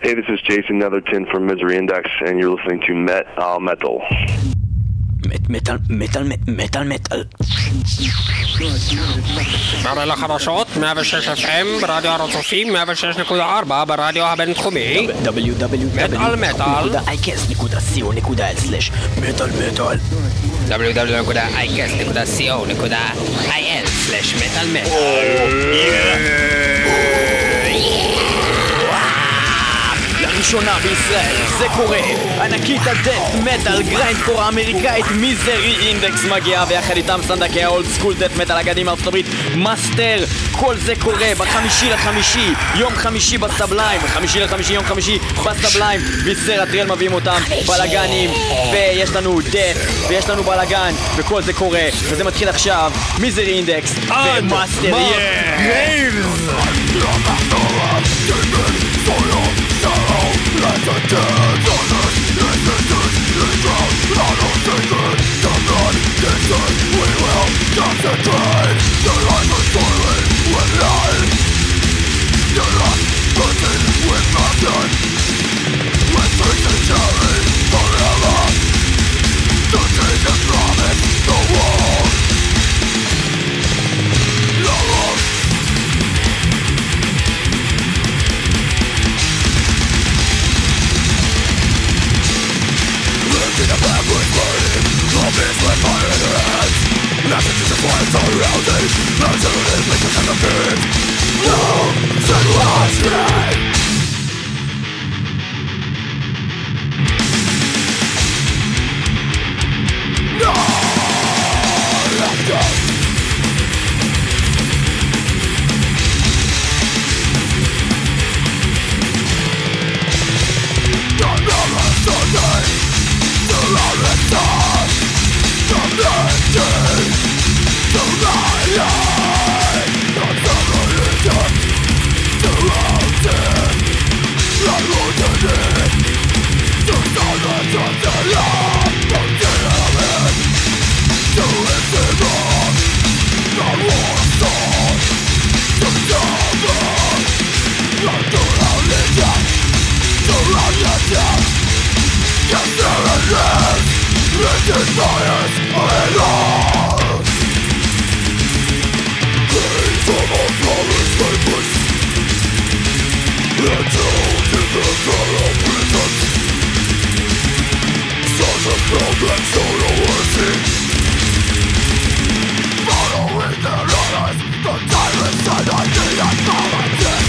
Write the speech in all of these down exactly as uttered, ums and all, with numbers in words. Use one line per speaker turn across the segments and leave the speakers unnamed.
Hey, this is Jason Netherton from Misery Index, and you're listening to Met Al Metal.
מטל, מטל, מטל, מטל.
מעלה לחדשות, מאה ושש אף אם, ברדיו הרצופים, מאה ושש נקודה ארבע, ברדיו הבינתחומי.
דאבליו דאבליו דאבליו נקודה איי קאסט נקודה סי או נקודה אל סלש מטל מטל.
דאבליו דאבליו נקודה איי קאסט נקודה סי או נקודה איי אל סלש מטל מטל.
לראשונה בישראל זה קורה, ענקית הדאט מטל גריינדקור האמריקאית מיזרי אינדקס מגיעה, ויחד איתם סנדקי האולד סקול דאט מטל אגדים מארצות הברית מאסטר. כל זה קורה בחמישי לחמישי, יום חמישי בסבליים, חמישי לחמישי יום חמישי בסבליים. ויסר הטריאל מביאים אותם, בלגנים, ויש לנו דאט ויש לנו בלגן, וכל זה קורה, וזה מתחיל עכשיו. מיזרי אינדקס ומאסטר גרייבס. Let the dead on us, let the dead lay down. I don't think it, the blood is in. We will concentrate. The life is toiling with life. The lust burning with passion. With faith and charity forever. The king has promised the world. Love. In a backward burning, zombies with fire in their hands. Messages of fire surrounding, absolute places and the pit. No, said watch me. No, let's go. Don't never Sunday. The loudest song, the blessing, the light, the revolution, the mountain, the routine, the silence of the love, the tenement, the incident, the war song, the devil, the duality, the reality. Yes, there it is, it is science alone. Praise from our flawless papers, held in the federal prisons. Such a problem so worthy. Following their orders, the tyrants and idea politics.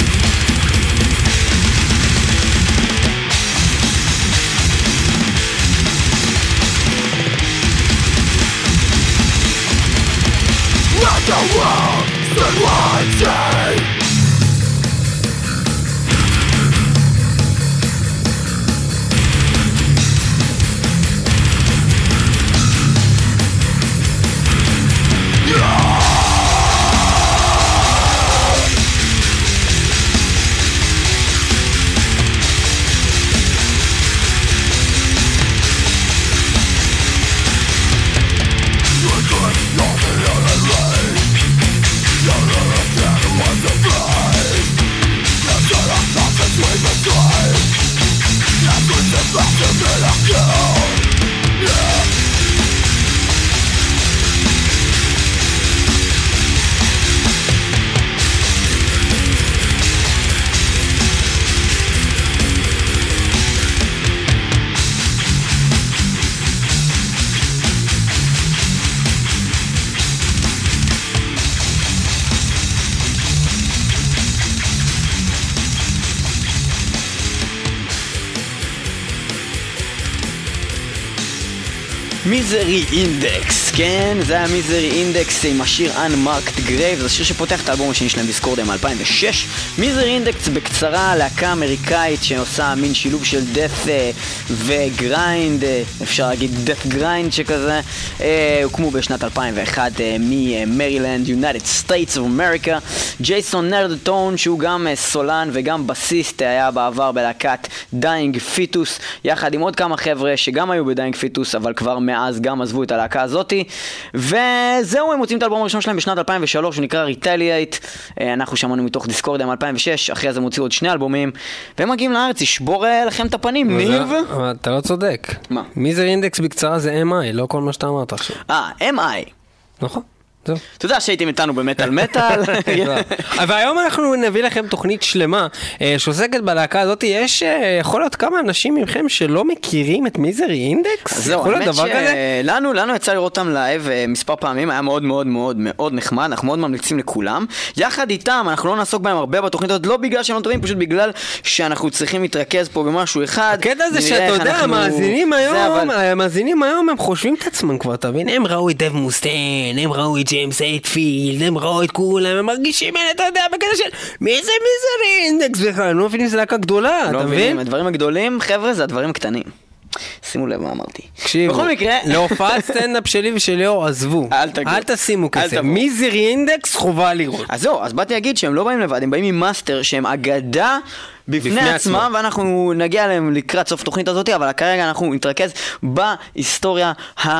Let the world stand one day. Yeah! מיזרי אינדקס, כן, זה היה מיזרי אינדקס עם השיר Unmarked Grave, זה השיר שפותח את האלבום השני שלהם דיסקורד מ-אלפיים ושש. מיזרי אינדקס בקצרה, להקה אמריקאית שעושה מין שילוב של death וגריינד, אפשר להגיד death grind שכזה. הוקמו בשנת אלפיים ואחת ממרילנד, United States of America. ג'ייסון נרדטון, שהוא גם סולן וגם בסיסט, היה בעבר בלהקת דיינג פיטוס, יחד עם עוד כמה חבר'ה שגם היו בדיינג פיטוס אבל כבר מאז גם עזבו את הלהקה הזאת. וזהו, הם מוצאים את האלבום הראשון שלהם בשנת אלפיים ושלוש, הוא נקרא Retaliate. אנחנו שמענו מתוך דיסקורדיה מ-אלפיים ושש, אחרי זה הם הוציאו עוד שני אלבומים, והם מגיעים לארץ, ישבור לכם את הפנים, ניב.
אתה לא צודק.
מה?
מיזר אינדקס בקצרה זה אם איי, לא כל מה שאתה אמרת עכשיו.
אה, אם איי.
נכון. זהו.
אתה יודע שהייתם איתנו במטל מטל.
אבל היום אנחנו נביא לכם תוכנית שלמה שעוסקת בלהקה הזאת. יש יכול להיות כמה אנשים מכם שלא מכירים את מיזרי אינדקס?
זהו, האמת שלנו, לנו יצא לראות אותם לייב מספר פעמים, היה מאוד מאוד מאוד מאוד נחמד, אנחנו מאוד ממליצים לכולם. יחד איתם, אנחנו לא נעסוק בהם הרבה בתוכנית הזאת, לא בגלל שהם לא טובים, פשוט בגלל שאנחנו צריכים להתרכז פה במשהו אחד.
הקטע זה שאתה יודע, המאזינים היום, המאזינים היום הם חושבים את עצמם כבר, תבין? הם ראו את דב מוסטיין, הם ראו את ג'יימס אייטפילד, הם ראו את כולם, הם מרגישים, אתה יודע, בקטע של מי זה מיזרי אינדקס בכלל, אני לא מבינים שזה להקה גדולה, אתה מבין?
הדברים הגדולים, חבר'ה, זה הדברים קטנים. שימו לב מה אמרתי.
בכל מקרה, להופעת סטנדאפ שלי ושל ליאור עזבו, אל תשימו כסף, מיזרי אינדקס חובה לראות.
אז זהו, אז באתי להגיד שהם לא באים לבד, הם באים עם מאסטר שהם אגדה בפני עצמם, ואנחנו נגיע להם לקראת סוף תוכנית הזאת, אבל כרגע אנחנו נתרכז בהיסטוריה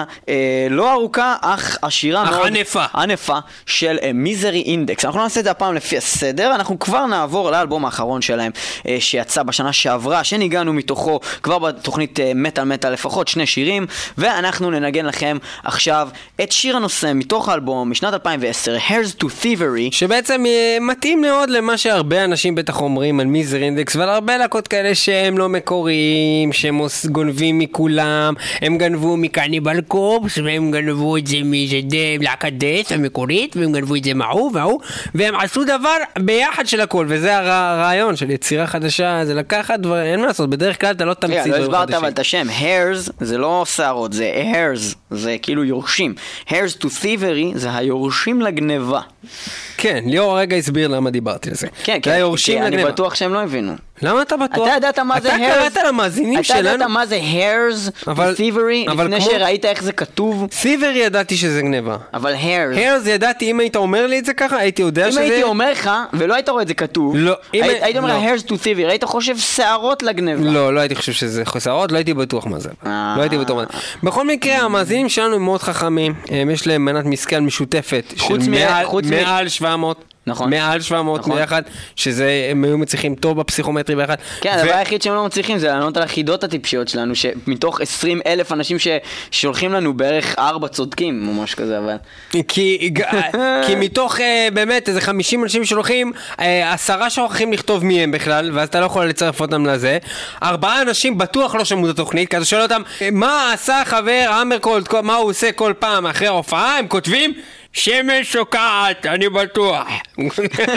הלא ארוכה, אך עשירה מאוד,
ענפה.
ענפה של מיזרי אינדקס. אנחנו נעשה את זה הפעם לפי הסדר, אנחנו כבר נעבור לאלבום האחרון שלהם, שיצא בשנה שעברה, שניגענו מתוכו כבר בתוכנית מטל מטל לפחות שני שירים, ואנחנו ננגן לכם עכשיו את שיר הנושא מתוך האלבום משנת אלפיים ועשר, Hairs to Thievery,
שבעצם מתאים מאוד למה שהרבה אנשים בטח אומרים על מיזרי אינדקס, ועל הרבה להקות כאלה שהם לא מקוריים, שהם גונבים מכולם, הם גנבו מקניבל קורפס, והם גנבו את זה מלהקת דאט המקורית, והם גנבו את זה מההוא וההוא, והם עשו דבר ביחד של הכל, וזה הרעיון של יצירה חדשה, זה לקחת דברים, אין מה לעשות, בדרך כלל אתה לא תמציא דברים חדשים.
לא הסברת אבל את השם, hairs זה לא שערות, זה hairs, זה כאילו יורשים. hairs to thievery זה היורשים לגנבה.
כן, ליאור הרגע הסביר למה דיברתי על זה.
כן, כן, אני בטוח שהם לא הבינו.
למה אתה בטוח?
אתה ידעת מה זה hairs?
אתה קראת למאזינים שלנו?
אתה ידעת מה זה hairs ו-thievery לפני שראית איך זה כתוב?
thievery ידעתי שזה גנבה.
אבל hairs...
hairs ידעתי, אם היית אומר לי את זה ככה, הייתי יודע שזה...
אם הייתי אומר לך, ולא היית רואה את זה כתוב, היית אומר hairs to thievery, היית חושב שערות לגנבה.
לא, לא הייתי חושב שזה שערות, לא הייתי בטוח מה זה. לא הייתי בטוח מה זה. בכל מקרה, המאזינים שלנו הם מאוד חכמים, יש להם מנת משכל משותפת של מעל שבע מאות.
נכון.
מעל שבע מאות נכון. ביחד, שזה הם היו מצליחים טוב בפסיכומטרי ביחד.
כן, ו... הדבר היחיד שהם לא מצליחים זה לענות על החידות הטיפשיות שלנו, שמתוך עשרים אלף אנשים ששולחים לנו בערך ארבע צודקים, ממש כזה, אבל...
כי, כי מתוך uh, באמת איזה חמישים אנשים שולחים, uh, עשרה שוכחים לכתוב מי הם בכלל, ואז אתה לא יכול לצרף אותם לזה. ארבעה אנשים בטוח לא שמעו את התוכנית, כי אתה שואל אותם, מה עשה חבר אמרקולד, מה הוא עושה כל פעם אחרי ההופעה, הם כותבים... שמש שוקעת, אני בטוח.
אני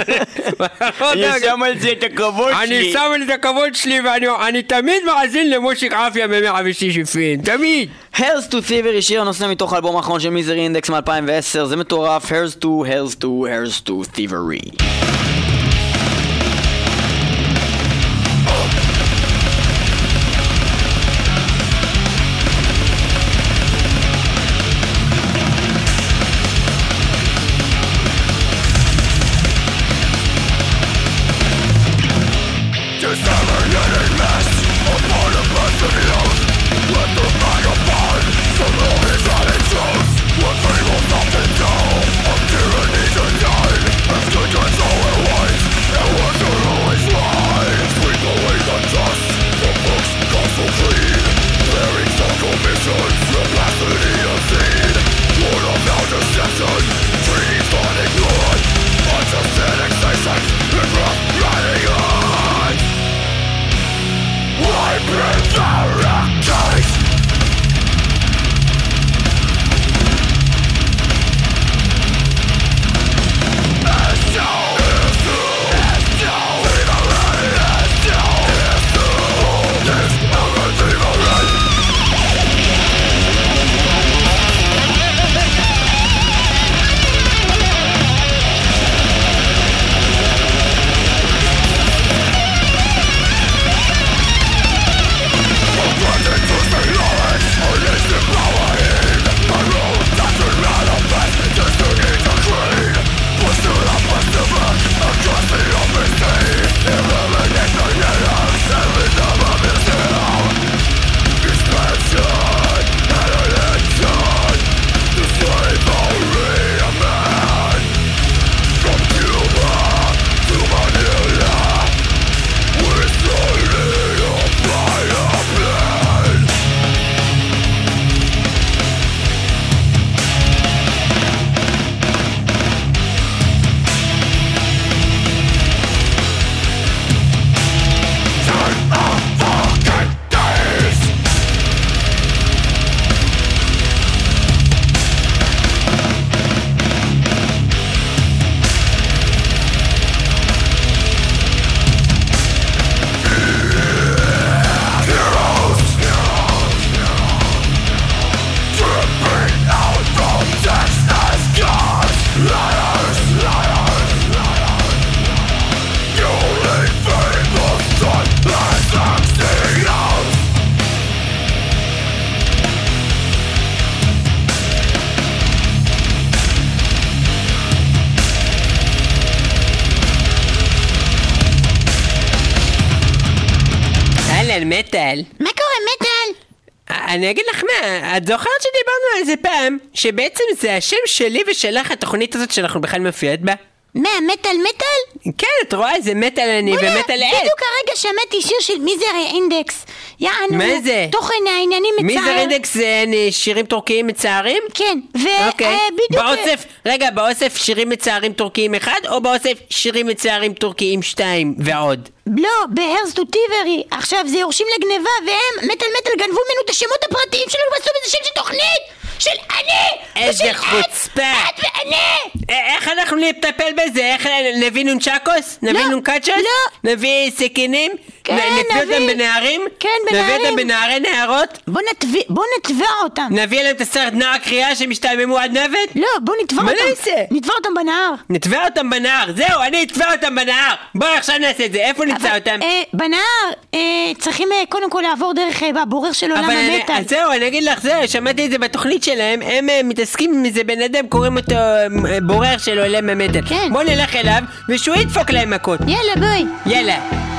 שם על זה את הכבוד שלי.
אני שם על זה את הכבוד שלי, ואני תמיד מאזין למושיק עפיה ב-מאה ושש אפים, תמיד.
Hairs to Thievery, שיר הנושא מתוך האלבום האחרון של מיזרי אינדקס מ-אלפיים ועשר, זה מטורף. Hairs to, Hairs to, Hairs to Thievery.
אהלן, מטל.
מה קורה, מטל?
אני אגיד לך מה, את זוכרת שדיברנו על זה פעם, שבעצם זה השם שלי ושלך התוכנית הזאת שאנחנו בכלל מופיעות בה?
מה, מטל מטל?
כן, את רואה, זה מטל אני ומטל עד.
בדיוק הרגע שמעתי שיר של מיזרי אינדקס. יענו,
מה זה?
תוכן העניינים מצער.
מיזרי אינדקס זה שירים טורקיים מצערים?
כן,
אוקיי.
ובדיוק...
באוסף, רגע, באוסף שירים מצערים טורקיים אחד, או באוסף שירים מצערים טורקיים שתיים ועוד?
לא, בהרסט וטיברי. עכשיו זה יורשים לגניבה, והם, מטל מטל, גנבו ממנו את השמות הפרטיים שלנו ועשו בזה שם של תוכנית! של אני!
איזה חוצפה!
את ואני!
איך אנחנו נטפל בזה? איך נביא נונצ'קוס? נביא
לא,
נונקצ'וס?
לא.
נביא סכינים?
כן,
נביא אותם
נביא.
בנערים?
כן,
נביא
בנערים.
אותם בנערי נערות?
בוא נטבע, בוא נטבע אותם.
נביא להם את הסרט נער קריאה שמשתעממו עד נוות?
לא, בוא נטבע
מה
אותם.
נעשה?
נטבע אותם בנהר.
נטבע אותם בנהר, זהו, אני אטבע אותם בנהר. בואו עכשיו נעשה את זה, איפה נמצא
אבל,
אותם?
אה, בנהר, אה, צריכים אה, קודם כל לעבור דרך אה, הבורר של עולם
אבל אני,
המטל.
אז זהו, אני אגיד לך, זהו, שמעתי את זה בתוכנית שלהם, הם אה, מתעסקים עם איזה בן אדם, קוראים אותו אה, בורר של עולם המטל.
כן.
בואו נלך אליו, ושהוא ידפוק להם מכות.
יאללה, בואי.
יאללה.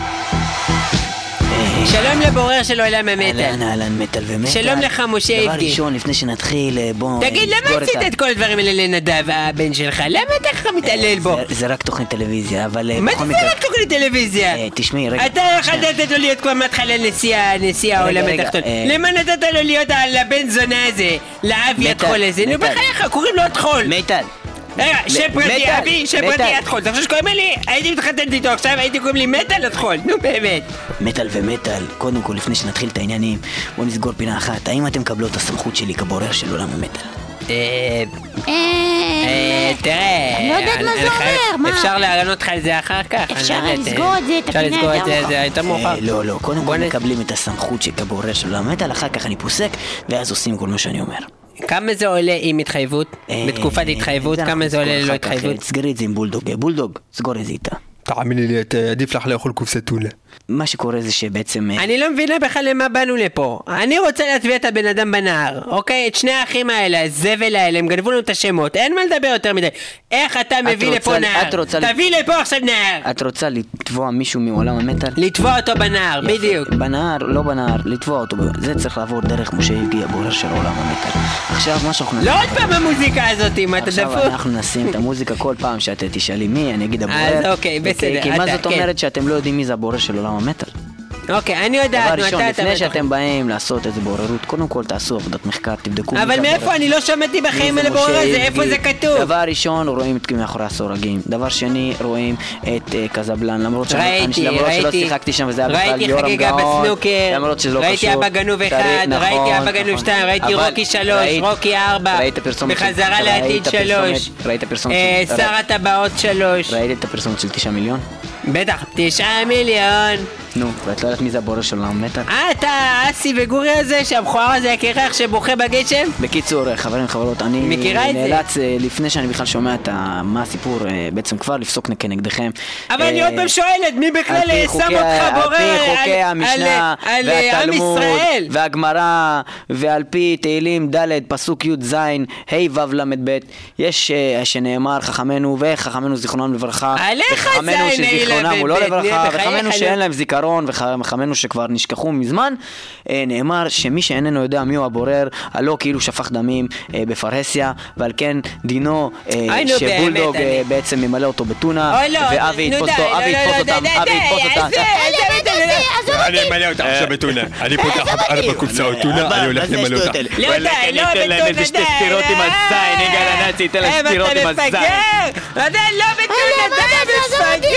שלום לבורר של עולם המטל.
אהלן, אהלן, מטל ומטל.
שלום לך, משה
דבר
יבגי.
ראשון, לפני שנתחיל, בוא...
תגיד, למה עשית את כל הדברים האלה לנדב, הבן שלך? למה אתה ככה מתעלל בו?
זה- זה רק תוכנית טלוויזיה, אבל...
מה
בכל
זה
מקרה-
רק תוכנית טלוויזיה?
אה, תשמעי, רגע.
אתה יכולת לתת לו להיות כבר מההתחלה נשיא נשיא העולם
רגע,
התחתון.
אה.
למה נתת לו להיות על הבן זונה הזה? לאבי
מטל,
הטחול הזה? נו
מטל.
בחייך, קוראים לו הטחול.
מטל.
רגע, שם פרטי
מטל,
אבי, שם
מטל.
פרטי הטחול. אתה חושב שקוראים לי? הייתי מתחתנת איתו עכשיו, הייתי קוראים לי מטל הטחול. נו באמת.
מטל ומטל, קודם כל, לפני שנתחיל את העניינים, בוא נסגור פינה אחת. האם אתם מקבלות את הסמכות שלי כבורר של עולם המטל?
אה...
אה...
אה... תראה...
אני לא יודעת מה זה
אני חייב-
אומר, מה?
אפשר לענות לך על זה אחר כך.
אפשר
אני לא יודעת,
לסגור את זה, את
אפשר
הפינה
לסגור את זה,
יותר
זה יותר מאוחר.
אה, לא, לא, קודם
בוא
כל
נ-
מקבלים את הסמכות של כבורר של עולם המטל, אחר כך אני פוסק, ואז עושים כל מה שאני אומר.
כמה זה עולה עם התחייבות?
אה,
בתקופת התחייבות,
זה
כמה
אנחנו
זה עולה
נסגור
ללא
אחר כך.
התחייבות?
תסגרי את זה עם בולדוג. בולדוג, סגור את זה איתה.
תאמיני לי, את- עדיף לך לאכול קופסת טונה.
מה שקורה זה שבעצם... אה,
אני לא מבינה בכלל למה באנו לפה. אני רוצה להטביע את הבן אדם בנהר, אוקיי? את שני האחים האלה, הזבל האלה, הם גנבו לנו את השמות, אין מה לדבר יותר מדי. איך אתה מביא
רוצה-
לפה נהר?
את רוצה-
תביא לפה עכשיו נהר!
את רוצה לתבוע מישהו מעולם המטל?
לתבוע אותו בנהר,
יפה.
בדיוק.
בנהר, לא בנהר, לתבוע אותו. זה צריך לעבור דרך משה יבגי, הבורר של עולם המטל. עכשיו מה שאנחנו
לא עוד פעם המוזיקה הזאת, מה אתה
עכשיו
דפוק?
אנחנו נשים את המוזיקה כל פעם שאת תשאלי מי, אני אגיד הבורר.
אז אוקיי, בסדר,
כי מה
אתה-
זאת
כן.
אומרת שאתם לא יודעים מי זה הבורר של עולם המטל?
אוקיי, אני יודעת,
דבר
נו,
ראשון,
אתה... אתה-
לפני
אתה-
שאתם באים לעשות איזה בוררות, קודם כל תעשו עבודת מחקר, תבדקו.
אבל מאיפה? אני לא שמעתי בחיים על הבורר הזה, איפה זה כתוב?
דבר ראשון, רואים את מאחורי הסורגים. דבר שני, רואים את אה, קזבלן, למרות שאני-
ראיתי,
למרות שלא
ראיתי,
שיחקתי שם וזה היה בכלל
ראיתי
יורם
חגיגה
גאון,
בסנוקר,
למרות שזה לא
ראיתי
קשור.
אבא גנוב
צריך-
אחד,
נכון,
ראיתי אבא גנוב
נכון.
שתיים, ראיתי
אבל
רוקי שלוש,
ראית-
רוקי ארבע,
ראית פרסומת של-
בחזרה
ראית
לעתיד
הפרסומת-
שלוש,
ראית הפרסומת
אה,
של-
שר הטבעות שלוש,
ראית את הפרסומת של תשעה מיליון?
בטח, תשעה מיליון.
נו, ואת לא יודעת מי זה הבורר של עולם המטל?
אה, אתה אסי וגורי הזה, שהמכוער הזה הקרח שבוכה בגשם?
בקיצור, חברים וחברות, אני
מכירה את זה?
נאלץ, אה, לפני שאני בכלל שומע את ה- מה הסיפור, אה, בעצם כבר לפסוק כנגדכם.
אבל אני
אה,
עוד פעם שואלת, מי בכלל
על פי
שם
חוקי-
אותך בורר
על פי
על-
חוקי
על-
המשנה
על על עם
והתלמוד
ישראל?
והגמרא ועל פי תהילים ד' פסוק י"ז ה' ו' ל' ב' יש אה, שנאמר חכמינו וחכמינו זיכרונם לברכה
עליך
וחכמינו
זין, ה'
שזיכרונם הוא לא
ל' ב',
לברכה
בחייך,
וחכמינו
נו.
שאין להם זיכרון וחכמינו שכבר נשכחו מזמן אה, נאמר שמי שאיננו יודע מי הוא הבורר הלא כאילו שפך דמים אה, בפרהסיה ועל כן דינו אה,
אוי, נו,
שבולדוג
באמת,
אה,
אני-
בעצם ממלא אותו בטונה
אוי לא,
ואבי
נו
יתפוס
די,
אותו,
לא,
אבי
לא,
יתפוס
לא,
אותם,
די,
אבי
די,
יתפוס
די,
אותם.
עזוב, עזוב, עזוב,
אני אמלא אותך עכשיו בטונה. אני פותח ארבע קופסאות טונה, אני הולך למלא אותך.
לא די, לא בטונה, די.
סטירות עם הזין, יגאל הנאצי, ייתן להם סטירות עם הזין.
אתה מפגר! די, לא בטונה, די, מפגר!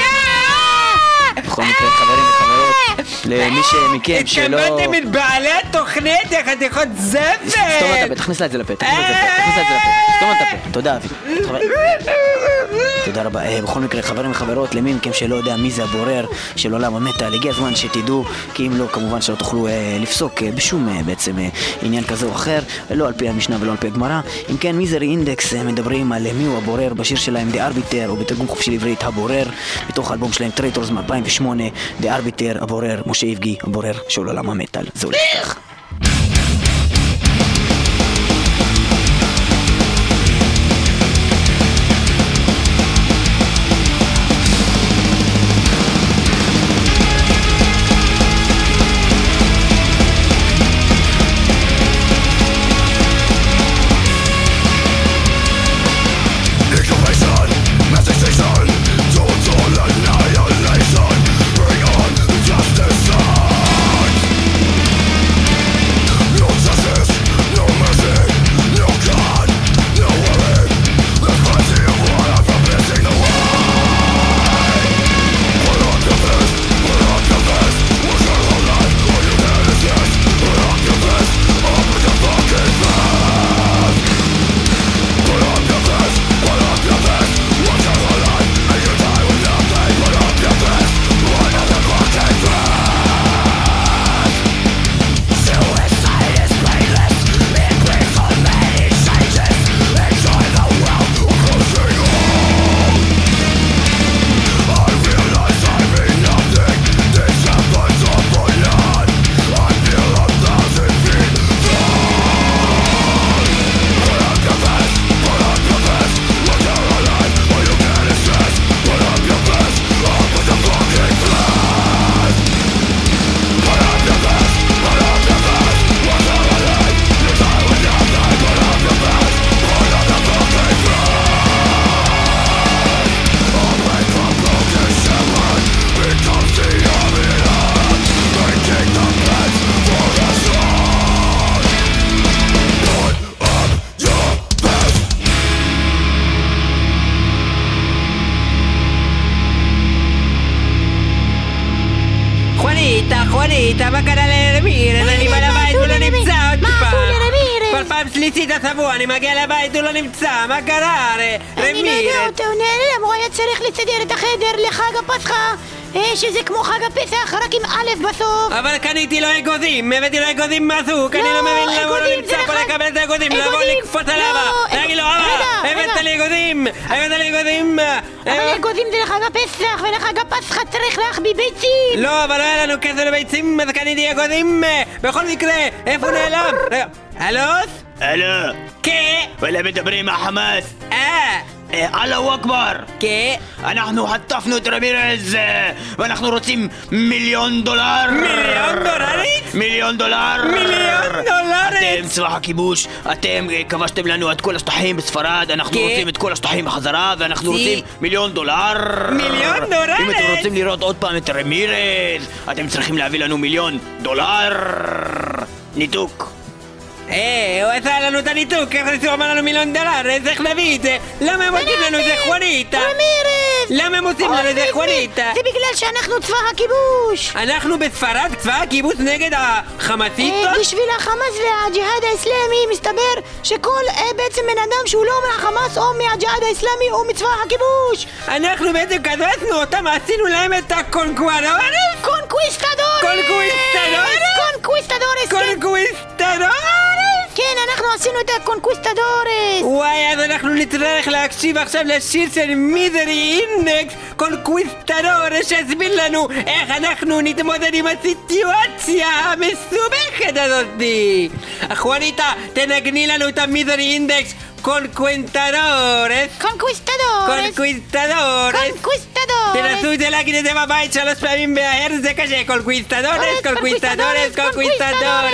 בכל מקרה, חברים וחברות, למי שמכם שלא...
התכוונתם את בעלי התוכנית, איך את יכול זבל!
סתום את הפה, תכניס לה את זה לפה, תכניס לה את זה לפה, תכניס לה את זה לפה, סתום את הפה, תודה אבי. תודה רבה. אה, בכל מקרה, חברים וחברות, למי מכם שלא יודע מי זה הבורר של עולם המטל, הגיע הזמן שתדעו, כי אם לא, כמובן שלא תוכלו אה, לפסוק אה, בשום אה, בעצם אה, עניין כזה או אחר, לא על פי המשנה ולא על פי הגמרא. אם כן, מיזרי אינדקס אה, מדברים על אה, מי הוא הבורר בשיר שלהם The Arbiter, או בתרגום חופשי לעברית הבורר, מתוך האלבום שלהם טרייטורס מ-אלפיים ושמונה, The Arbiter, הבורר, משה יבגי, הבורר של עולם המטל. זה הולך כך.
נמצא? מה קרה לרמירז? אני בא לבית הוא לא נמצא עוד
מה
פעם.
עשו לרמירז?
כל פעם שלישית השבוע אני מגיע לבית הוא לא נמצא. מה קרה
אני לא יודע
רמירז?
אותו, נעלם, הוא היה צריך לסדר את החדר לחג הפסחא, אה, שזה כמו חג הפסח, רק עם א' בסוף.
אבל קניתי לו אגוזים, הבאתי לו אגוזים מהסוג, אני לא מבין למה הוא לא
אגוזים
נמצא
זה
פה
לחג-
לקבל את האגוזים, לבוא
אגוזים-
לקפוץ
לא,
עליו,
אג-
להגיד לו,
רגע,
אבא, הבאת
רגע.
לי אגוזים, הבאת לי אגוזים.
אבל
אה,
אגוזים זה לחג הפסח, ולחג הפסחא צריך להחביא ביצים.
לא, אבל לא היה לנו כסף לביצים, אז קניתי אגוזים. בכל מקרה, איפה הוא נעלם? רגע, הלוס?
הלו,
כן.
וلا מדברים מהחמאס?
אה,
אללהו אכבר!
כן.
אנחנו חטפנו את רמירז אה, ואנחנו רוצים מיליון דולר!
מיליון דולרית?
מיליון דולר!
מיליון דולרית!
אתם צבא הכיבוש, אתם אה, כבשתם לנו את כל השטחים בספרד, אנחנו
כן.
רוצים את כל השטחים בחזרה ואנחנו
סי.
רוצים מיליון דולר!
מיליון דולרית!
אם אתם רוצים לראות עוד פעם את רמירז, אתם צריכים להביא לנו מיליון דולר! ניתוק!
אה, הוא עשה לנו את הניתוק, איך הוא אמר לנו מיליון דולר, אז איך נביא את זה? למה הם עושים לנו זה חואניטה?
רמירז!
למה הם עושים לנו זה חואניטה?
זה בגלל שאנחנו צבא הכיבוש.
אנחנו בספרד צבא הקיבוץ נגד
אה,
החמאסיסטות?
בשביל החמאס והג'יהאד האסלאמי מסתבר שכל אה, בעצם בן אדם שהוא לא מהחמאס או מהג'יהאד האסלאמי הוא מצבא הכיבוש.
אנחנו בעצם כזרסנו אותם, עשינו להם את הקונקוואדורס?
קונקוויסטדורס!
קונקוויסטדורס?
קונקוויסטדורס! כן.
קונקוויסטדורס?
כן, אנחנו עשינו את הקונקוויסטדורס!
וואי, אז אנחנו נצטרך להקשיב עכשיו לשיר של מיזרי אינדקס קונקוויסטדורס שהסביר לנו איך אנחנו נתמודד עם הסיטואציה המסובכת הזאתי. אחואניטה, תנגני לנו את המיזרי אינדקס קונקוויסטדורס.
קונקוויסטדורס!
קונקוויסטדורס.
קונקוויסטדורס!
תנסו את זה להגיד את זה בבית שלוש פעמים בהר, זה קשה. קונקוויסטדורס, קונקוויסטדורס, קונקוויסטדורס.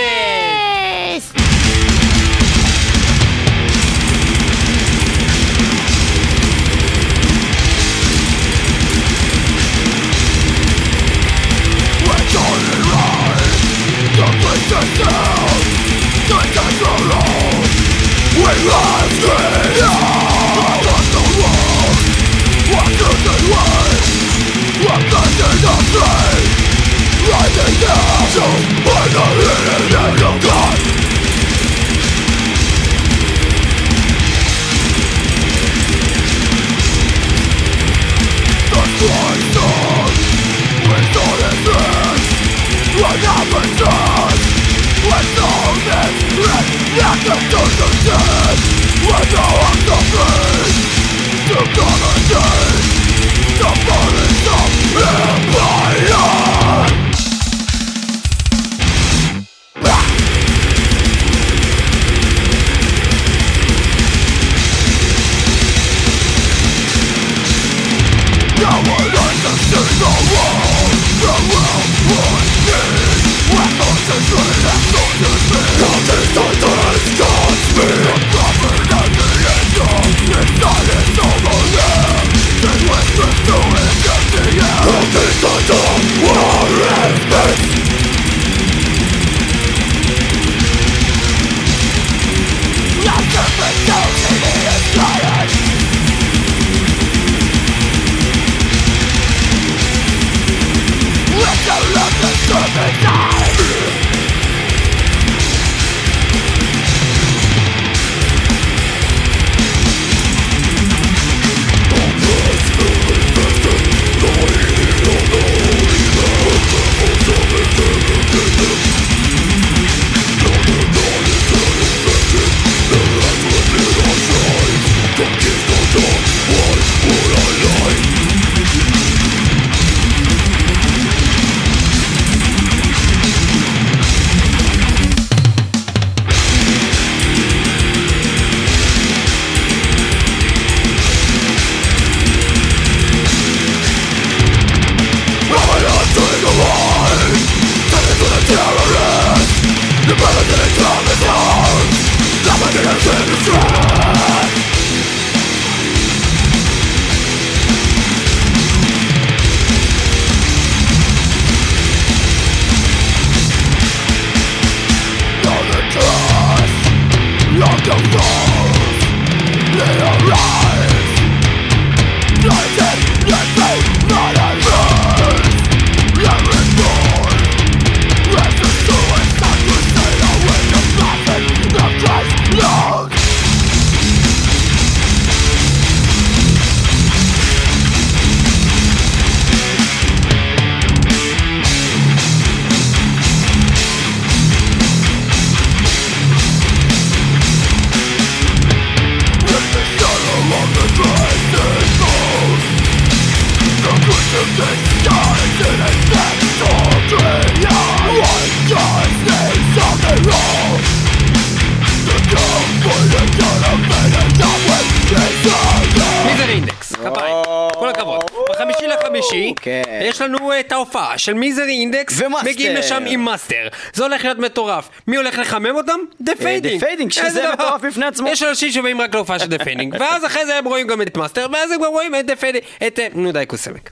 לנו את ההופעה של מיזרי אינדקס,
ומאסטר.
מגיעים לשם עם מאסטר. זה הולך להיות מטורף. מי הולך לחמם אותם? דה פיידינג.
דה פיידינג, שזה מטורף בפני עצמו.
יש אנשים שבאים רק להופעה של דה פיידינג, ואז אחרי זה הם רואים גם את מאסטר, ואז הם כבר רואים את דה פיידינג, את... נו די קוסמק.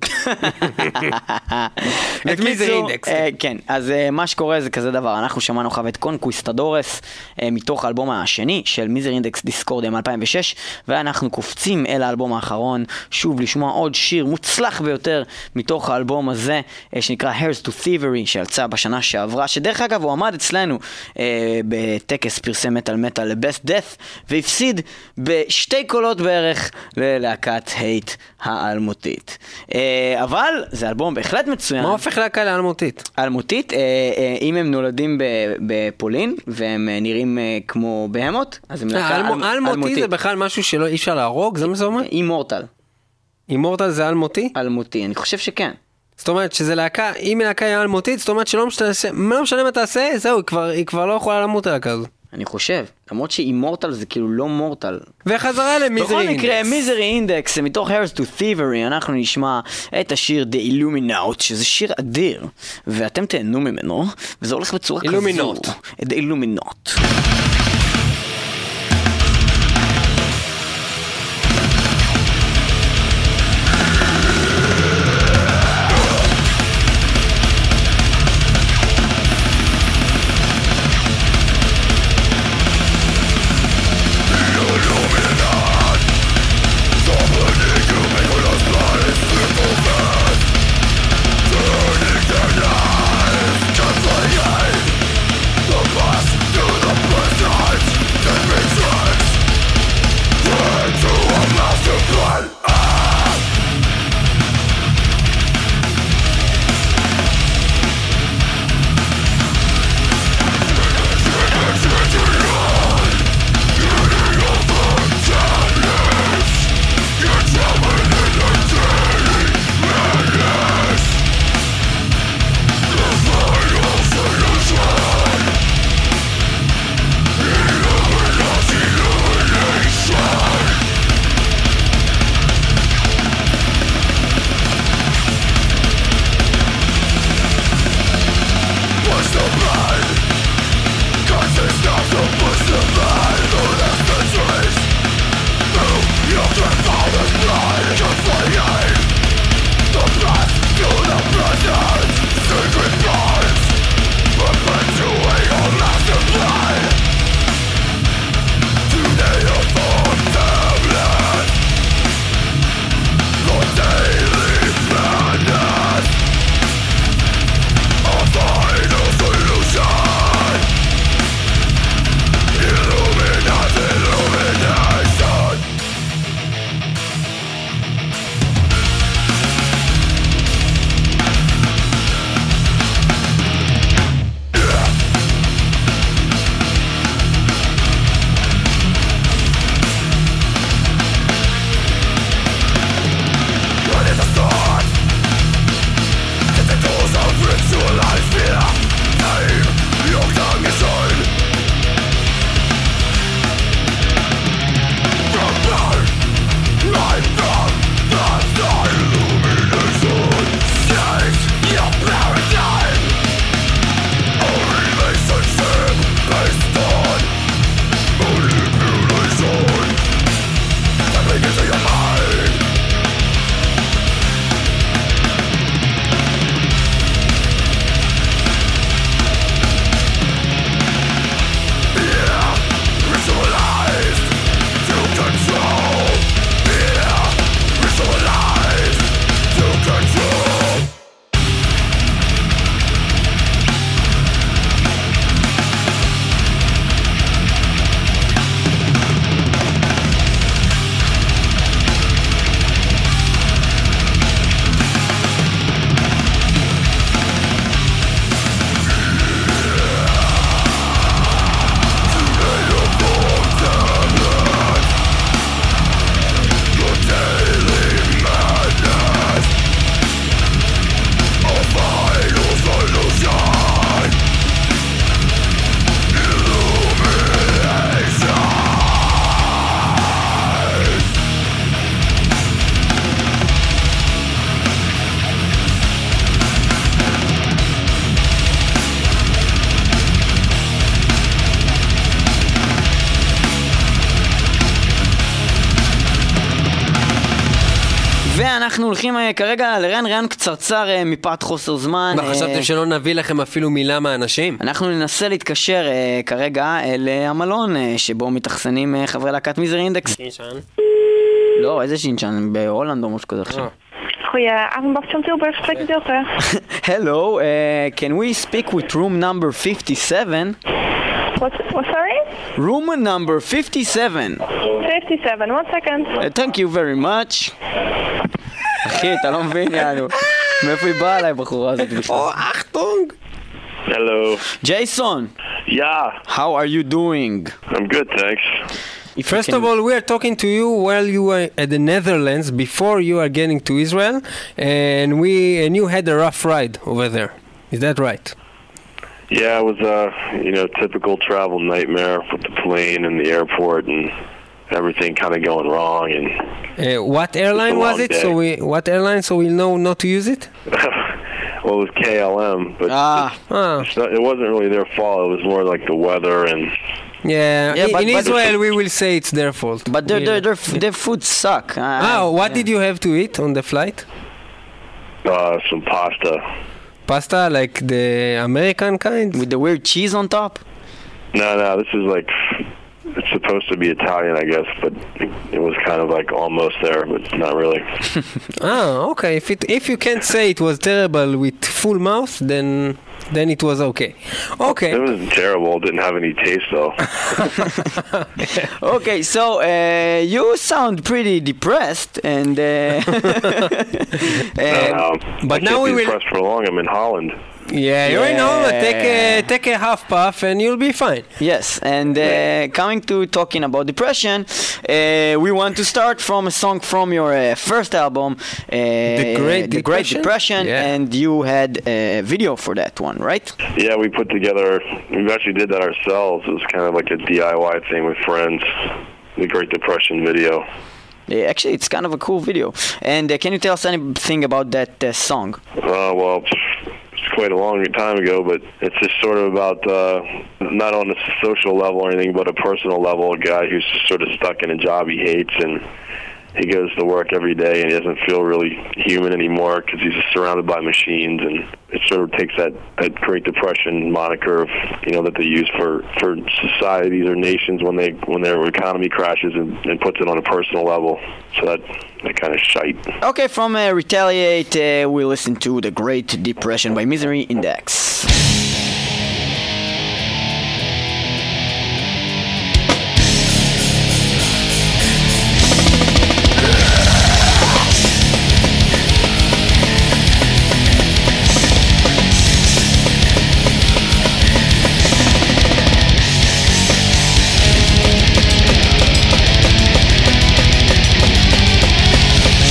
את מיזרי אינדקס.
כן, אז מה שקורה זה כזה דבר, אנחנו שמענו חו את קונקוויסטדורס מתוך האלבום השני של מיזרי אינדקס דיסקורדיה מ-אלפיים ושש, ואנחנו קופצים אל האלבום האחרון שוב לשמוע עוד שיר מוצלח ביותר מתוך האלבום הזה שנקרא Here's to Thievery, שיצא בשנה שעברה, שדרך אגב הוא עמד אצלנו בטקס פרסי מטל מטל ל-Best Death והפסיד בשתי קולות בערך ללהקת הייט האלמותית. אבל זה אלבום בהחלט מצוין.
מה הופך להקה לאלמותית?
אלמותית, אם הם נולדים בפולין והם נראים כמו בהמות, אז הם להקה אלמותית.
אלמותי זה בכלל משהו שלא אי אפשר להרוג, זה מה זה אומר?
אימורטל.
אימורטל זה אלמותי?
אלמותי, אני חושב שכן.
זאת אומרת שזה להקה, אם להקה היא אלמותית, זאת אומרת שלא משנה, לא משנה מה תעשה, זהו, היא כבר לא יכולה למות הלהקה הזו.
אני חושב, למרות שאימורטל זה כאילו לא מורטל.
וחזרה למיזרי אינדקס.
בכל מקרה, מיזרי אינדקס, מתוך Here's to Thievery, אנחנו נשמע את השיר The Illuminaut, שזה שיר אדיר, ואתם תהנו ממנו, וזה הולך בצורה כזו.
Illuminaut.
The Illuminaut.
The past to the present.
אנחנו הולכים אה, כרגע לראיין ראיין קצרצר אה, מפאת חוסר זמן.
מה, חשבתם
אה,
שלא נביא לכם אפילו מילה מהאנשים?
אנחנו ננסה להתקשר אה, כרגע אל אה, המלון אה, שבו מתאכסנים אה, חברי להקת מיזרי אינדקס.
שינשן.
לא, איזה שינשן? בהולנד או משהו כזה עכשיו.
Goedenavond, van Tilburg, spreekt met Ilse.
Hello, uh, can we speak with room number fifty-seven?
What, what, sorry?
Room number fifty-seven.
fifty-seven, one second.
Uh, thank you very much. אחי, אתה לא מבין, יענו. מאיפה היא באה עליי, בחורה הזאת?
או, אחטונג!
Hello.
Jason,
Yeah,
how are you doing?
I'm good, thanks.
If you
First
can-
of all, we are talking to you while you were at the Netherlands before you are getting to Israel, and we and you had a rough ride over there. Is that right?
Yeah, it was a you know typical travel nightmare with the plane and the airport and everything kind of going wrong. And
Uh, what airline
It's a
was
long
it?
day.
So we what airline? So we know not to use it.
well, it was K L M, but
Ah,
Ah,
it's not, it wasn't really their fault. It was more like the weather and
yeah.
Yeah,
in
but-
in
but-
Israel, we will say it's their fault.
but their,
We-
their, their, their food suck.
Ah, what did you have to eat on the flight?
uh, some pasta.
Pasta, like the American kind?
With the weird cheese on top?
No, no, this is like it's supposed to be Italian, I guess, but it, it was kind of like almost there, but not really.
Ah, okay. If it if you can't say it was terrible with full mouth, then then it was okay. Okay.
It wasn't terrible. It didn't have any taste though.
Okay, so uh, you sound pretty depressed and... Uh, uh,
Um,
but
I
now
can't
we
be
will-
depressed for long. I'm in Holland.
Yeah, you're in home.
Yeah.
Take a take a half puff and you'll be fine.
Yes, and uh, coming to talking about depression, uh, we want to start from a song from your uh, first album, uh,
The Great
The Great
Depression?
Depression,
Yeah.
and you had a video for that one, right?
Yeah, we put together. We actually did that ourselves. It was kind of like a D I Y thing with friends. The Great Depression video.
Yeah, actually, it's kind of a cool video. And uh, can you tell us anything about that uh, song?
Uh, well, it's quite a long time ago, but it's just sort of about uh, not on a social level or anything, but a personal level. A guy who's just sort of stuck in a job he hates, and he goes to work every day, and he doesn't feel really human anymore because he's just surrounded by machines. And it sort of takes that, that Great Depression moniker of, you know, that they use for, for societies or nations when they when their economy crashes, and, and puts it on a personal level. So that that kind of shite.
Okay, from uh, Retaliate, uh, we listen to The Great Depression by Misery Index.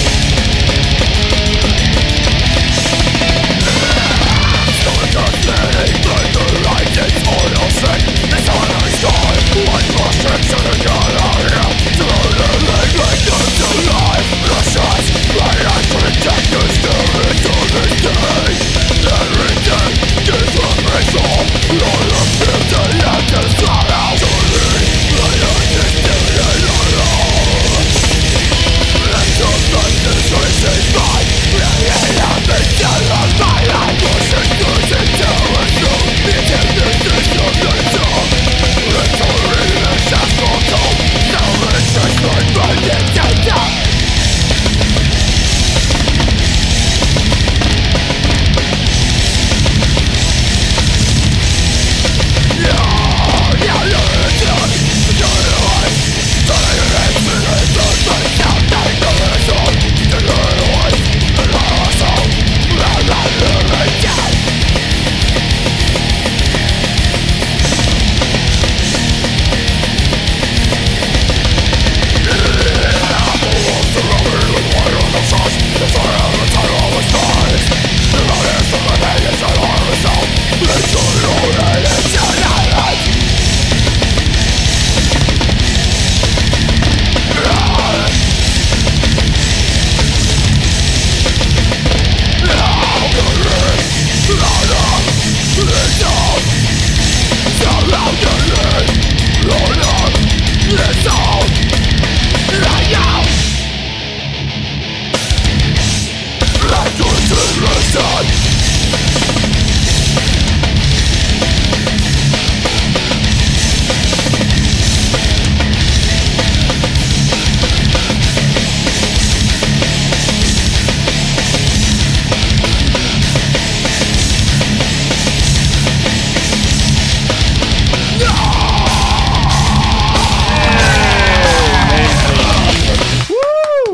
Start us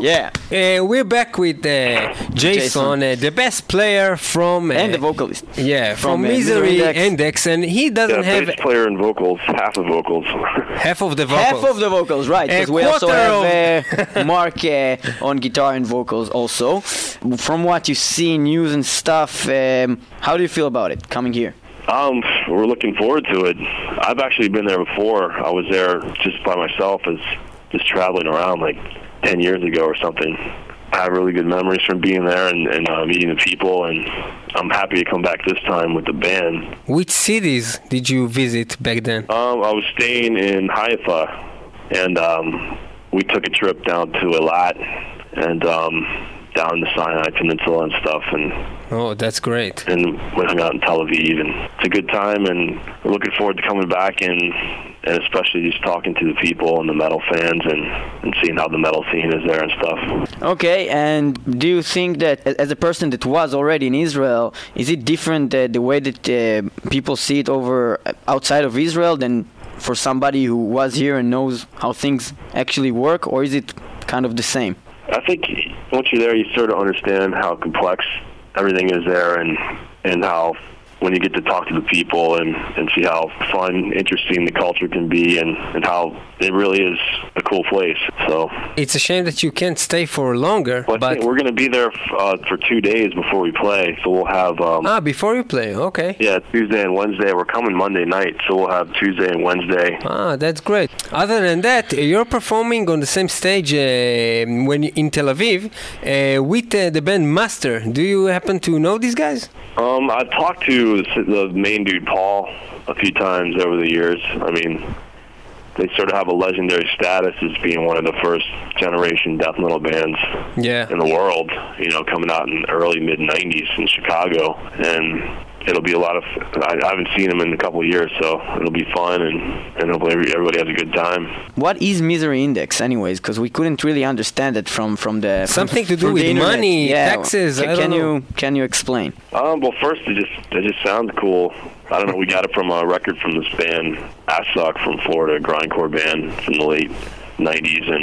Yeah.
Uh, we're back with uh, Jason, uh, the best player from... Uh,
and the vocalist.
Yeah, from,
From, uh,
Misery
Misery Index.
Index, and he doesn't
Yeah,
have
bass player and vocals, half the vocals.
half of the vocals.
Half of the vocals, right. Because
A
we also
quarter
have uh, Mark uh, on guitar and vocals also. From what you see, news and stuff, um, how do you feel about it, coming here?
Um, we're looking forward to it. I've actually been there before. I was there just by myself, as just traveling around like ten years ago or something. I have really good memories from being there and, and uh, meeting the people, and I'm happy to come back this time with the band.
Which cities did you visit back then?
Um, I was staying in Haifa, and um, we took a trip down to Eilat and um, down the Sinai Peninsula and stuff, and
Oh, that's great.
and we hung out in Tel Aviv, and it's a good time, and we're looking forward to coming back and and especially just talking to the people and the metal fans and, and seeing how the metal scene is there and stuff.
Okay, and do you think that a- as a person that was already in Israel, is it different uh, the way that uh, people see it over uh, outside of Israel than for somebody who was here and knows how things actually work, or is it kind of the same?
I think once you're there, you sort of understand how complex everything is there, and and how when you get to talk to the people and, and see how fun, interesting the culture can be, and, and how it really is a cool place. So
It's a shame that you can't stay for longer,
well, I
but...
think we're going to be there uh, for two days before we play. So we'll have um,
Ah, before you play, okay.
yeah Tuesday and Wednesday. We're coming Monday night, so we'll have Tuesday and Wednesday.
Ah, that's great. Other than that, you're performing on the same stage uh, when you, in Tel Aviv uh, with uh, the band Master. Do you happen to know these guys?
Um, I've talked to the, the main dude, Paul, a few times over the years. I mean, they sort of have a legendary status as being one of the first generation death metal bands
Yeah.
in the world, you know, coming out in the early mid nineties in Chicago. And it'll be a lot of, I, I haven't seen them in a couple of years, so it'll be fun, and, and hopefully everybody has a good time.
What is Misery Index, anyways? Because we couldn't really understand it from from the from-
Something to do
from the
with
internet.
money,
Yeah.
taxes,
Ca-
I
can
don't
you can you explain?
Um, well, first, it just it just sounds cool. I don't know. We got it from a record from this band, Assuck from Florida, a grindcore band from the late nineties, and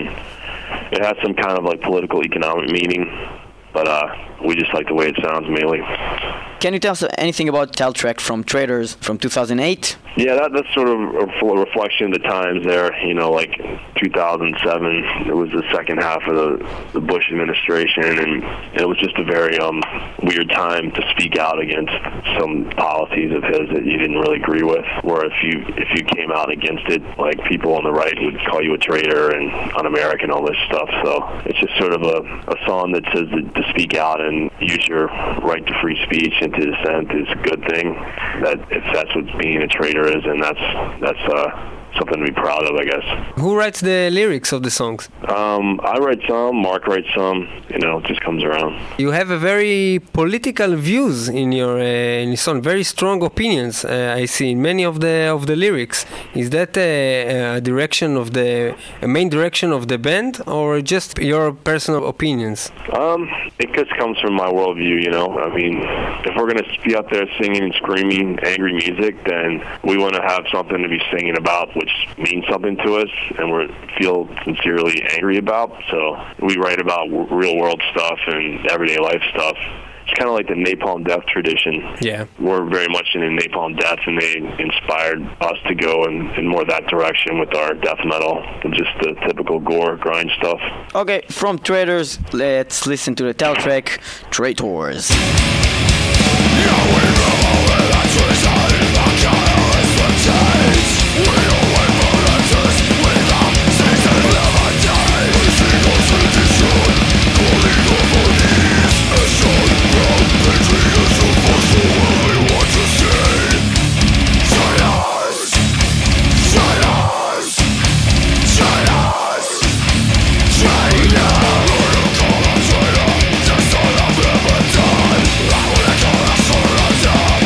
it has some kind of like political economic meaning. But uh, we just like the way it sounds mainly.
Can you tell us anything about Teltrek from Traders from two thousand eight?
Yeah, that, that's sort of a full reflection of the times there. You know, like two thousand seven, it was the second half of the, the Bush administration, and it was just a very um, weird time to speak out against some policies of his that you didn't really agree with. Where if you if you came out against it, like people on the right would call you a traitor and un-American, all this stuff. So it's just sort of a, a song that says that to speak out and use your right to free speech and to dissent is a good thing. That if that's what being a traitor is, and that's that's uh, something to be proud of, I guess.
Who writes the lyrics of the songs?
Um, I write some, Mark writes some. You know, it just comes around.
You have a very political views in your uh, in your song, very strong opinions. Uh, I see in many of the of the lyrics. Is that a, a direction of the a main direction of the band, or just your personal opinions?
Um, it just comes from my worldview, you know. I mean, if we're gonna be up there singing and screaming angry music, then we want to have something to be singing about, which means something to us, and we feel sincerely angry about. So we write about w- real world stuff and everyday life stuff. It's kind of like the Napalm Death tradition.
Yeah.
We're very much into Napalm Death, and they inspired us to go in, in more that direction with our death metal than just the typical gore grind stuff.
Okay, from Traders, let's listen to the Teltrek, Traitors.
China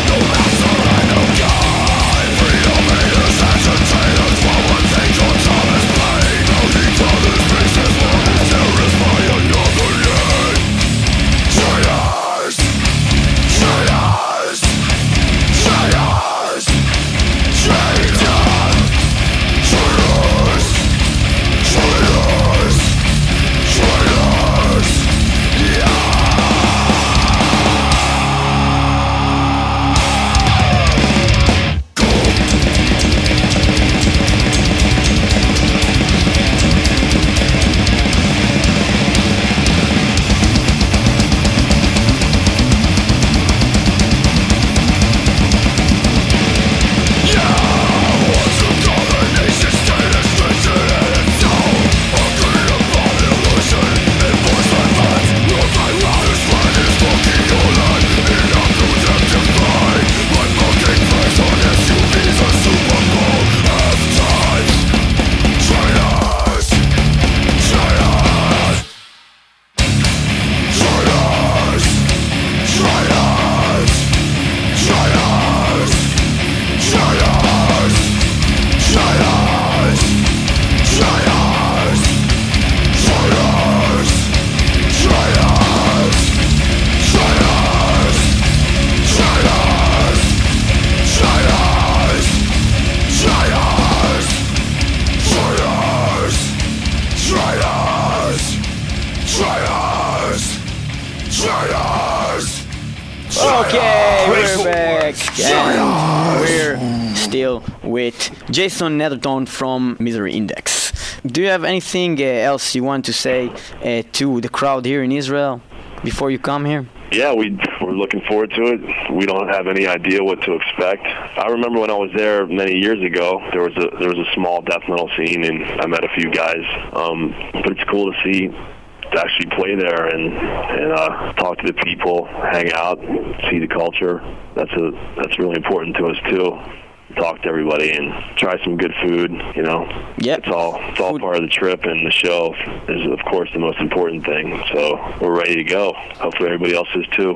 still with Jason Netherton from Misery Index. Do you have anything uh, else you want to say uh, to the crowd here in Israel before you come here?
Yeah, we, we're looking forward to it. We don't have any idea what to expect. I remember when I was there many years ago, there was a there was a small death metal scene, and I met a few guys. Um, but it's cool to see, to actually play there and and uh, talk to the people, hang out, see the culture. That's a that's really important to us too. Talk to everybody and try some good food, you know.
Yep.
It's all it's all part of the trip, and the show is of course the most important thing. So we're ready to go. Hopefully everybody else is too.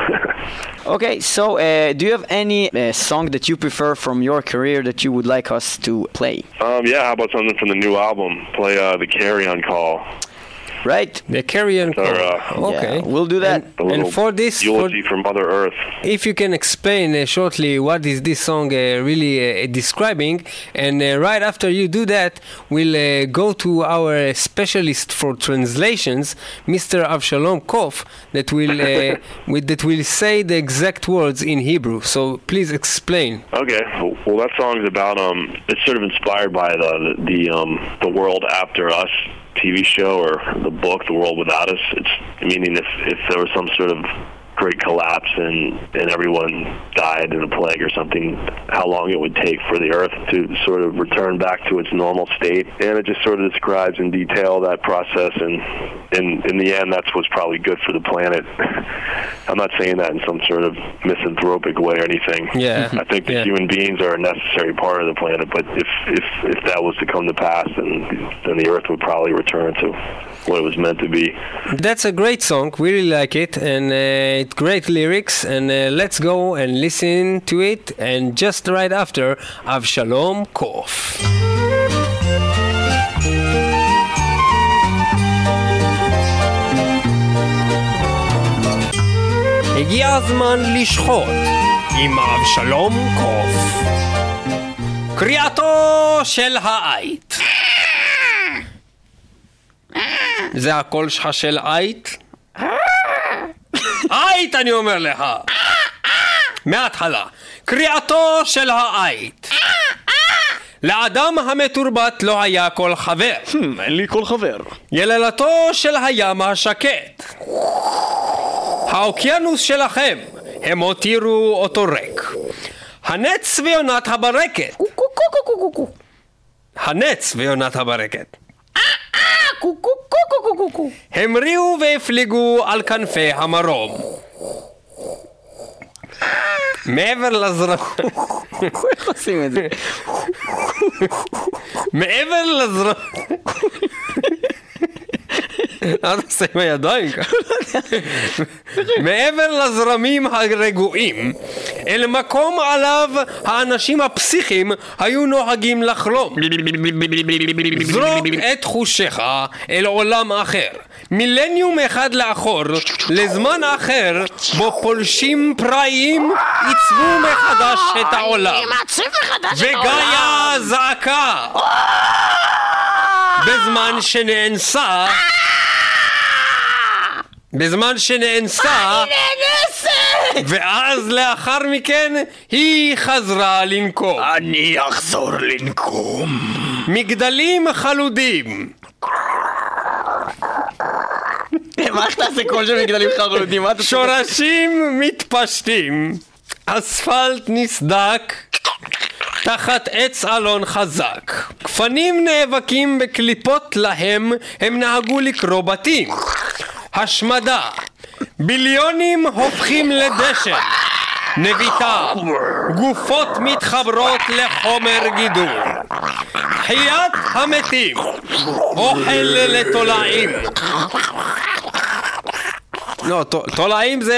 Okay, so uh, do you have any uh, song that you prefer from your career that you would like us to play?
Um, yeah, how about something from the new album? Play uh, the Carry-On Call.
Right?
The Carry-On Call.
Uh,
okay.
Yeah, we'll do that.
And, and for this,
eulogy
for,
for Mother Earth.
if you can explain uh, shortly what is this song uh, really uh, describing, and uh, right after you do that, we'll uh, go to our specialist for translations, Mister Avshalom Kof, that will uh, with, that will say the exact words in Hebrew. So please explain.
Okay. Well, that song's about um, it's sort of inspired by the the um, the World After Us T V show, or the book, The World Without Us. It's meaning if if there was some sort of great collapse and and everyone died in a plague or something, how long it would take for the earth to sort of return back to its normal state. And it just sort of describes in detail that process, and in in the end that's what's probably good for the planet. I'm not saying that in some sort of misanthropic way or anything.
Yeah.
I think that
Yeah.
human beings are a necessary part of the planet, but if if if that was to come to pass, then then the earth would probably return to what it was meant to be.
That's a great song. We really like it, and uh, it's great lyrics. And uh, let's go and listen to it. And just right after, Avshalom Kof. הגיע הזמן לשחוט עם אבשלום קוף. קריאתו של העית. זה הקול שלך של עית? עית, אני אומר לך. מההתחלה. קריאתו של העית. לאדם המתורבת לא היה כל חבר.
אין לי כל חבר.
יללתו של הים השקט. האוקיינוס שלכם, הם הותירו אותו ריק. הנץ ויונת הברקת. הנץ ויונת הברקת. המריאו והפליגו על כנפי המרום. מעבר לזרמים...
איך עושים את זה?
מעבר לזרמים... אל תעשה עם הידיים ככה. מעבר לזרמים הרגועים, אל מקום עליו האנשים הפסיכיים היו נוהגים לחלום. זרוק את חושיך אל עולם אחר, מילניום אחד לאחור, לזמן אחר בו פולשים פראיים עיצבו מחדש את העולם. וגאיה זעקה בזמן שנאנסה בזמן שנאנסה, ואז לאחר מכן היא חזרה לנקום.
אני אחזור לנקום.
מגדלים חלודים.
מה איך תעשה קול של מגדלים חלודים?
שורשים מתפשטים. אספלט נסדק תחת עץ אלון חזק. כפנים נאבקים בקליפות להם, הם נהגו לקרוא בתים. השמדה, ביליונים הופכים לדשן, נביטה, גופות מתחברות לחומר גידול, חיית המתים, אוכל לתולעים. לא, תולעים זה...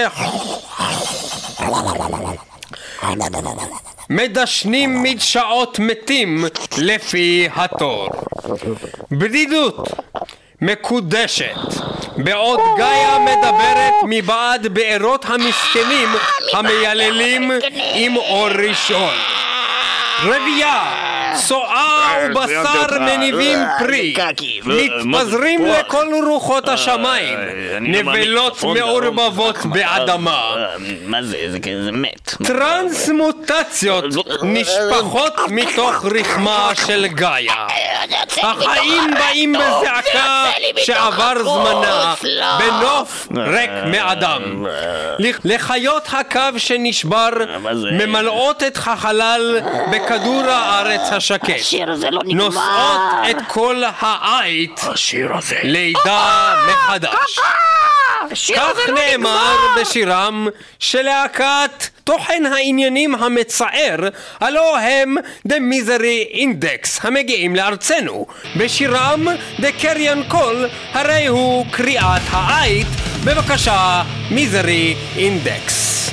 מדשנים מדשאות מתים לפי התור. בדידות מקודשת, בעוד גאיה מדברת מבעד בארות המסכנים המייללים עם אור ראשון. רבייה, צואה ובשר מניבים פרי, מתפזרים לכל רוחות השמיים, נבלות מעורבבות באדמה,
מה זה? זה מת.
טרנסמוטציות נשפחות מתוך רחמה של גאיה. החיים באים בזעקה שעבר זמנה, בנוף ריק מאדם. לחיות הקו שנשבר ממלאות את החלל בכדור הארץ השקט, נושאות את כל העית לידה מחדש. כך נאמר בשירם של להקת תוכן העניינים המצער, הלא הם The Misery Index המגיעים לארצנו. בשירם The Carrion Call הרי הוא קריאת העית. בבקשה, Misery Index.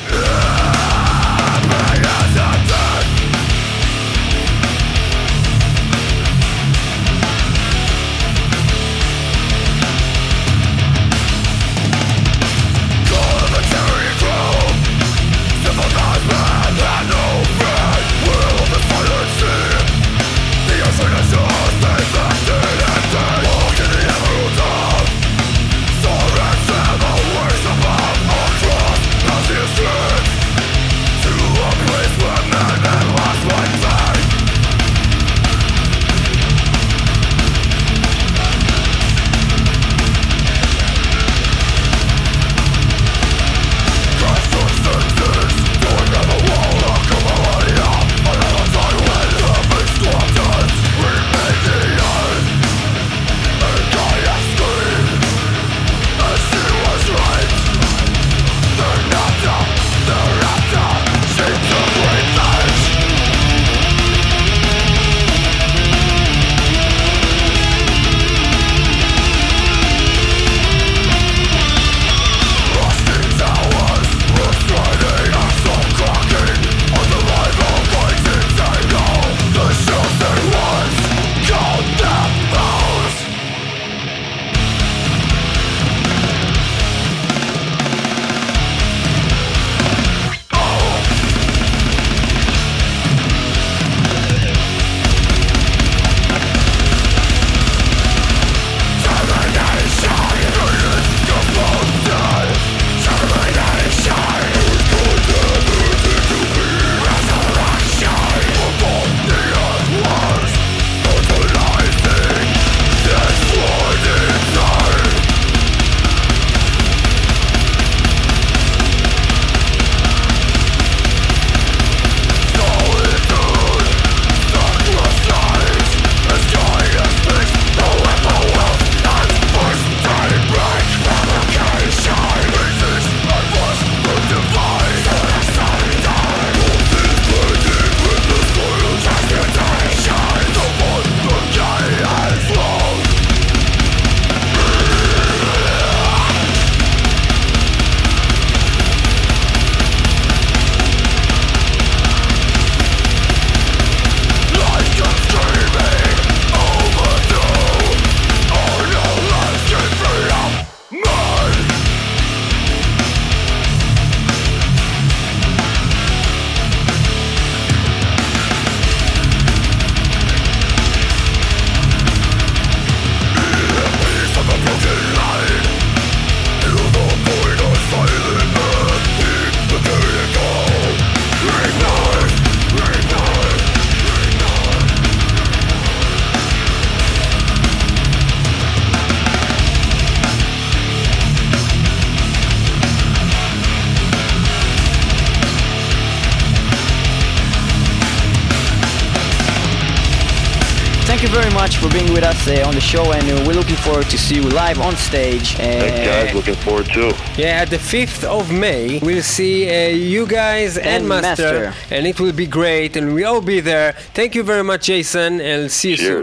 Thank you very much for being with us uh, on the show, and uh, we're looking forward to see you live on stage. Uh,
Thanks, guys. Looking forward too.
Yeah, at the fifth of May, we'll see uh, you guys and,
And
Master,
Master.
and it will be great, and we'll all be there. Thank you very much, Jason, and see you
Cheers.
soon.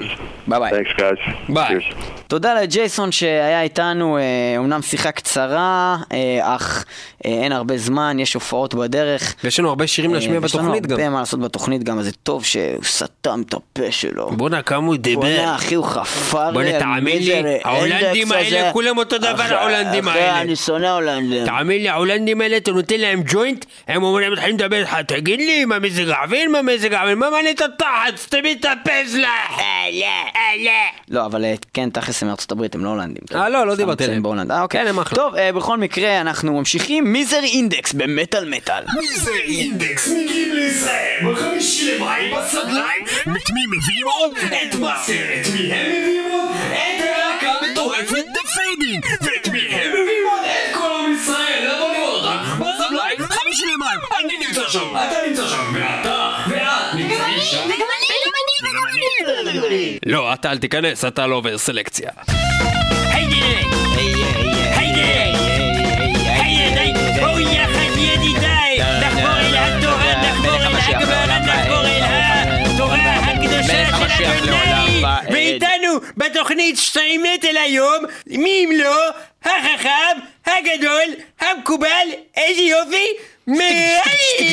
ביי ביי.
Thanks, guys.
ביי.
Cheers.
תודה לג'ייסון שהיה איתנו, אומנם שיחה קצרה, אך אין הרבה זמן, יש הופעות בדרך.
ויש לנו הרבה שירים להשמיע בתוכנית גם.
יש לנו הרבה מה לעשות בתוכנית גם, אז זה טוב שהוא סתם את הפה שלו.
בוא'נה, כמה הוא דיבר.
בוא'נה, אחי, הוא חפר.
בוא'נה, תאמין לי, ההולנדים האלה, כולם אותו דבר, ההולנדים האלה.
אחי, אני שונא הולנדים.
תאמין לי, ההולנדים האלה, אתה נותן להם ג'וינט, הם אומרים, מתחילים לדבר, תגיד לי, מה מזג האוויר, מה מזג האוויר, מה מעניין את התחת, סתמי את הפה שלך.
לא, אבל כן, תכלס מארצות הברית, הם לא הולנדים.
אה, לא, לא דיברתי עליהם.
בהולנד. אה, אוקיי.
כן, הם אחלה.
טוב, בכל מקרה, אנחנו ממשיכים. מיזר אינדקס במטל מטל.
מיזר אינדקס מגיעים לישראל בחמישי למאי בסדליים. את מי מביאים עוד? את מאסר. את מי הם מביאים עוד? את הלהקה מטורפת דפיידינג. ואת מי הם מביאים עוד? את כל עם ישראל. לבוא לראות אותם בסדליים. חמישי למאי. אני נמצא שם. אתה נמצא שם. ואתה ואת נמצאים שם.
וגם אני, וגם אני, וגם אני.
לא, אתה אל תיכנס, אתה לא עובר סלקציה.
היידה! היידה! היידה! בואו יחד ידידיי! נחבור אל התורה, נחבור אל הגמרא, נחבור אל התורה הקדושה של אדוני! ואיתנו בתוכנית שתיים מטל היום, מי אם לא, החכם, הגדול, המקובל, איזה יופי, מרייב!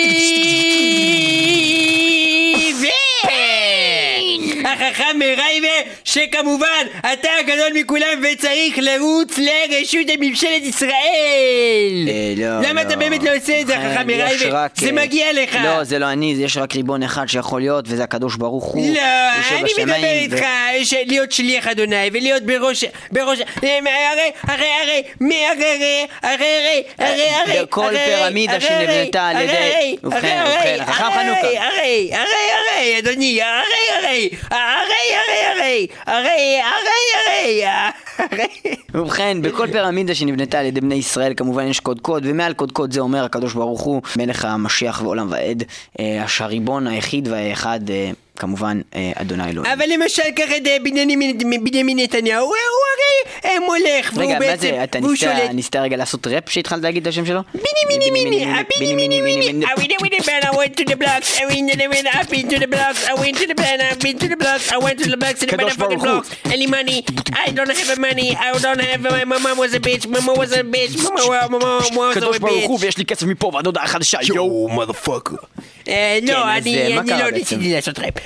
החכם מרייב, שכמובן אתה הגדול מכולם וצריך לרוץ לרשות הממשלת ישראל. למה אתה באמת לא עושה את זה, החכם מרייב? זה מגיע לך.
לא, זה לא אני, יש רק ריבון אחד שיכול להיות, וזה הקדוש ברוך הוא.
לא, אני מדבר איתך להיות שליח אדוני ולהיות בראש, בראש, הרי, הרי, הרי, מי הרי, הרי, הרי, הרי,
בכל פירמידה שנבנתה על ידי, ובכן, ובכן, החכם חנוכה.
הרי, הרי, הרי, אדוני, הרי, הרי, הרי, הרי, הרי, הרי, הרי,
ובכן, בכל פירמידה שנבנתה על ידי בני ישראל כמובן יש קודקוד, ומעל קודקוד זה אומר הקדוש ברוך הוא מלך המשיח ועולם ועד, הריבון היחיד והאחד, כמובן אדוני אלוהים.
אבל למשל ככה בנימין נתניהו, הוא הרי מולך, והוא בעצם,
רגע, מה זה, אתה ניסתה רגע לעשות ראפ שהתחלת להגיד את השם שלו?
ביני מיני מיני, ביני מיני מיני, I went to the band, I went to the blocks, I went to the band, I've been to the blocks, I went to the band, I've been to the blocks, I went to the blocks, to the motherfucking blocks, any money, I don't have money, I don't have, my mom was a bitch, mama was a bitch, mama was a
קדוש ברוך הוא
bitch.
ויש לי כסף מפה ועד הודעה חדשה, יואו מודפאקר.
לא, אני לא ניסיתי לעשות ראפ.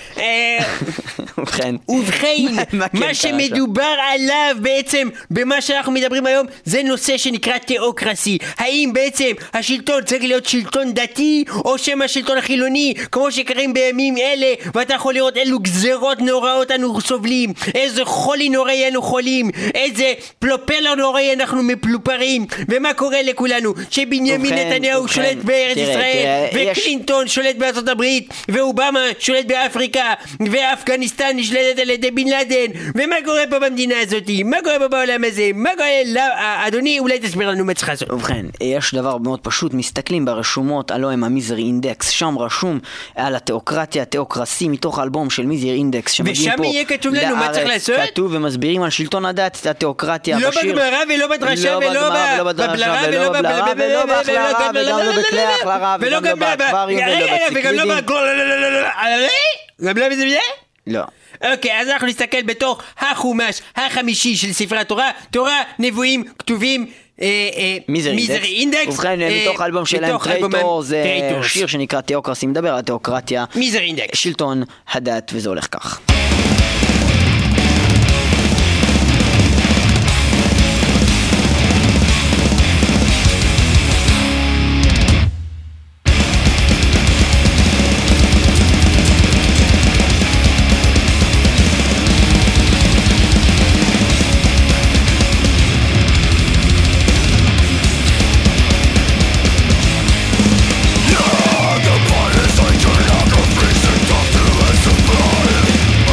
ובכן,
ובכן, מה שמדובר עליו בעצם במה שאנחנו מדברים היום זה נושא שנקרא תיאוקרסי. האם בעצם השלטון צריך להיות שלטון דתי או שמה שלטון החילוני כמו שקרים בימים אלה, ואתה יכול לראות אילו גזרות נוראות אנו סובלים, איזה חולי נוראי אנו חולים, איזה פלופלר נוראי אנחנו מפלופרים, ומה קורה לכולנו שבנימין נתניהו שולט בארץ ישראל וקלינטון שולט בארצות הברית ואובמה שולט באפריקה ואפגניסטן נשלטת על ידי בן לאדן, ומה קורה פה במדינה הזאת? מה קורה פה בעולם הזה? מה קורה? לא, אדוני, אולי תסביר לנו מה צריך לעשות.
ובכן, יש דבר מאוד פשוט, מסתכלים ברשומות, הלא הם המיזר אינדקס, שם רשום על התיאוקרטיה, התיאוקרסי, מתוך האלבום של מיזר אינדקס,
ושם יהיה כתוב לנו מה צריך לעשות?
כתוב ומסבירים על שלטון הדת, התיאוקרטיה,
לא בגמרא ולא בדרשה ולא בבלרה ולא
בבלרה ולא בהחלרה וגם לא בכלי החלרה וגם לא באקווריום ולא בציקלידים.
גם לא בזה בזה?
לא.
אוקיי, אז אנחנו נסתכל בתוך החומש החמישי של ספרי התורה, תורה, נבואים, כתובים,
מיזר
אינדקס.
ובכן, מתוך האלבום שלהם טרייטור, זה שיר שנקרא תיאוקרסי, מדבר על תיאוקרטיה,
מיזר אינדקס,
שלטון הדת, וזה הולך כך.
The bodies I turn out of freezing tough to survive.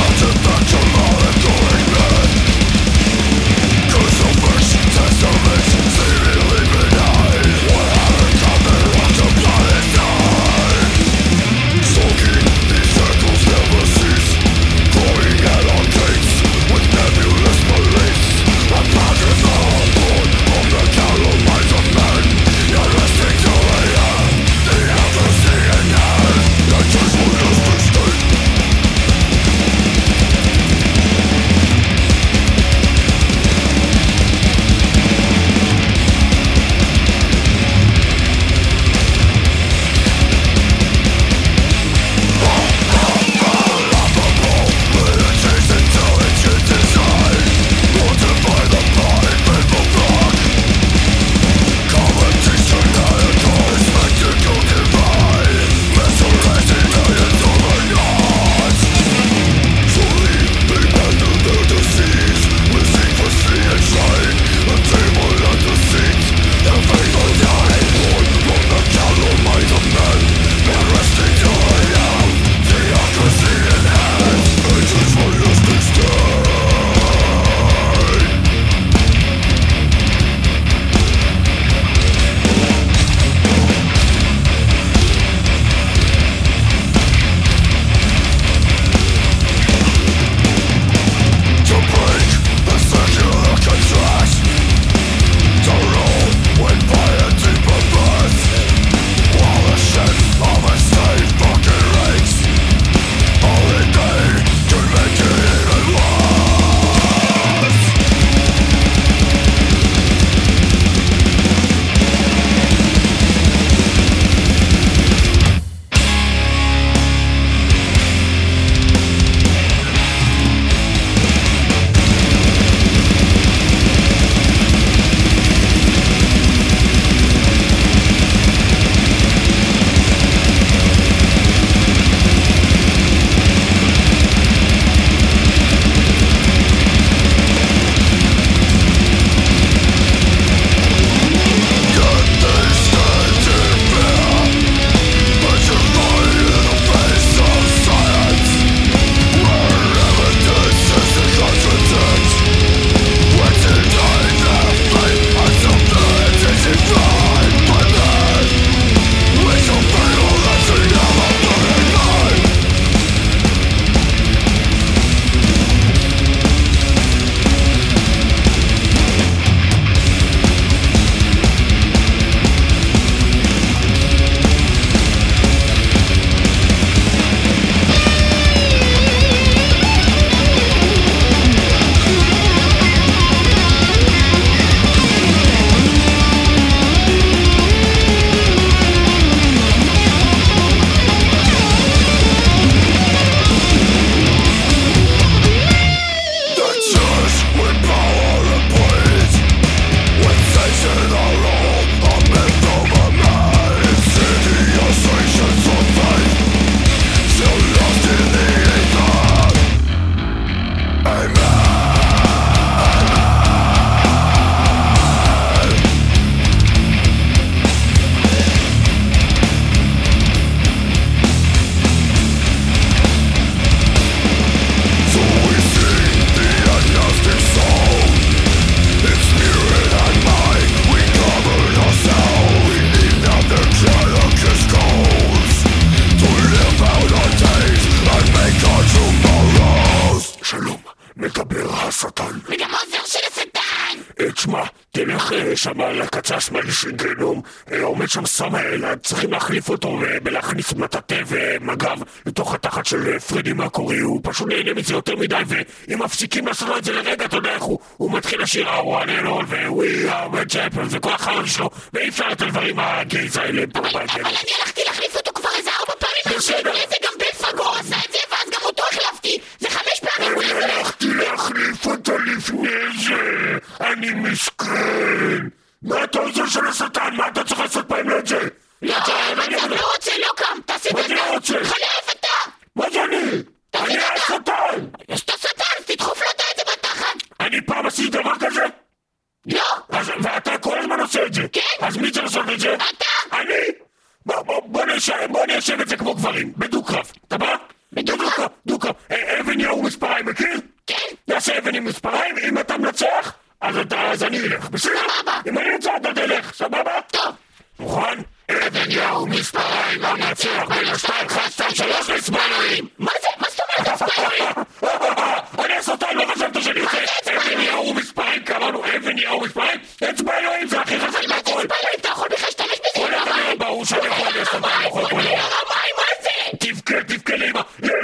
הולך שם על הקצה השמאלי של גנום, עומד שם סמאל, צריכים להחליף אותו ולהכניס מטאטא ומג"ב לתוך התחת של פרדי מקורי, הוא פשוט נהנה מזה יותר מדי, ואם מפסיקים לעשות את זה לרגע, אתה יודע איך הוא, הוא מתחיל לשיר I want it all ו-We are the champions וכל החרם שלו, ואי אפשר את הדברים הגייז האלה.
אבל אני הלכתי להחליף אותו כבר איזה ארבע פעמים, בסדר. זה גם בן פגור עשה את זה, ואז גם אותו החלפתי, זה חמש פעמים.
אני הלכתי להחליף אותו לפני זה, אני מסכן. מה אתה עוזר של השטן? מה אתה צריך לעשות פעם לא את זה?
לא, אני לא רוצה, לא קם, תעשי את זה.
מה אתה רוצה?
חלף אתה.
מה זה אני? אני השטן.
יש את השטן, תדחוף לו את זה בתחת.
אני פעם עשיתי דבר כזה?
לא.
ואתה כל הזמן עושה את זה?
כן.
אז מי צריך לעשות את זה?
אתה.
אני? בוא נשב את זה כמו גברים, בדו-קרב. אתה בא? בדו-קרב. דו-קרב. אבן יאו מספריים, מכיר?
כן.
נעשה אבן עם מספריים, אם אתה מנצח, אז אני אלך. בסדר? אם אני נצח, אתה תלך. סבבה?
טוב.
מוכן? אבן יאו מספריים, המנצח בין השתיים, אחד, שתיים, שלוש, מספריים.
מה זה? מה זאת אומרת מספריים?
אני הסרטן, לא חשבת שאני יוצא. אבן יאו מספריים, קראנו אבן יאו מספריים. אצבע אלוהים, זה הכי חזק מהכל.
אצבע אלוהים, אתה יכול בכלל להשתמש בזה.
ברור שאני יכול להשתמש בזה.
מה זה?
תבכה, תבכה לאמא.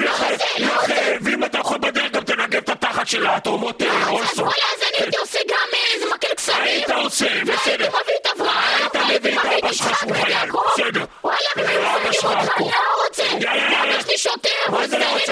ואם אתה יכול בדרך גם תנגב את התחת של האטומות אולסו.
וואלה, אז אני הייתי עושה גם איזה מקל קסמים.
היית עושה, בסדר.
הייתי מביא את אברהם.
היית מביא את אבא שלך שהוא חייל. בסדר.
וואלה,
אבא שלך פה.
לא רוצה. יאללה, יש לי שוטר.
מה זה לא רוצה?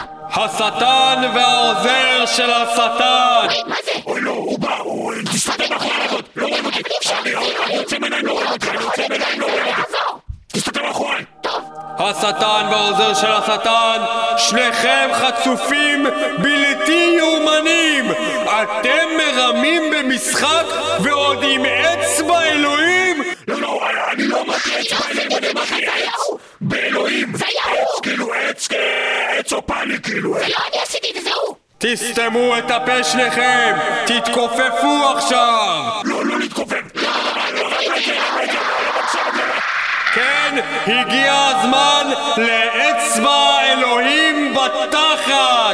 השטן והעוזר של השטן!
מה זה?
אוי לא, הוא בא, הוא... תסתכל מאחורי הרגות. לא רואים אותי. אני יוצא מעיניים, לא רואים אותי. אני יוצא מעיניים, לא רואים אותי. תסתכל מאחורי.
השטן והעוזר של השטן, שניכם חצופים בלתי יאומנים! אתם מרמים במשחק ועוד עם אצבע אלוהים?
לא, לא, אני לא מכיר אצבע אלוהים, אני מכיר עץ באלוהים.
זה יאו!
כאילו עץ, עץ או פני, כאילו.
זה לא אני עשיתי, זה הוא!
תסתמו את הפה שניכם! תתכופפו עכשיו!
לא, לא להתכופף! לא, לא, לא,
כן, הגיע הזמן לאצבע אלוהים בתחת!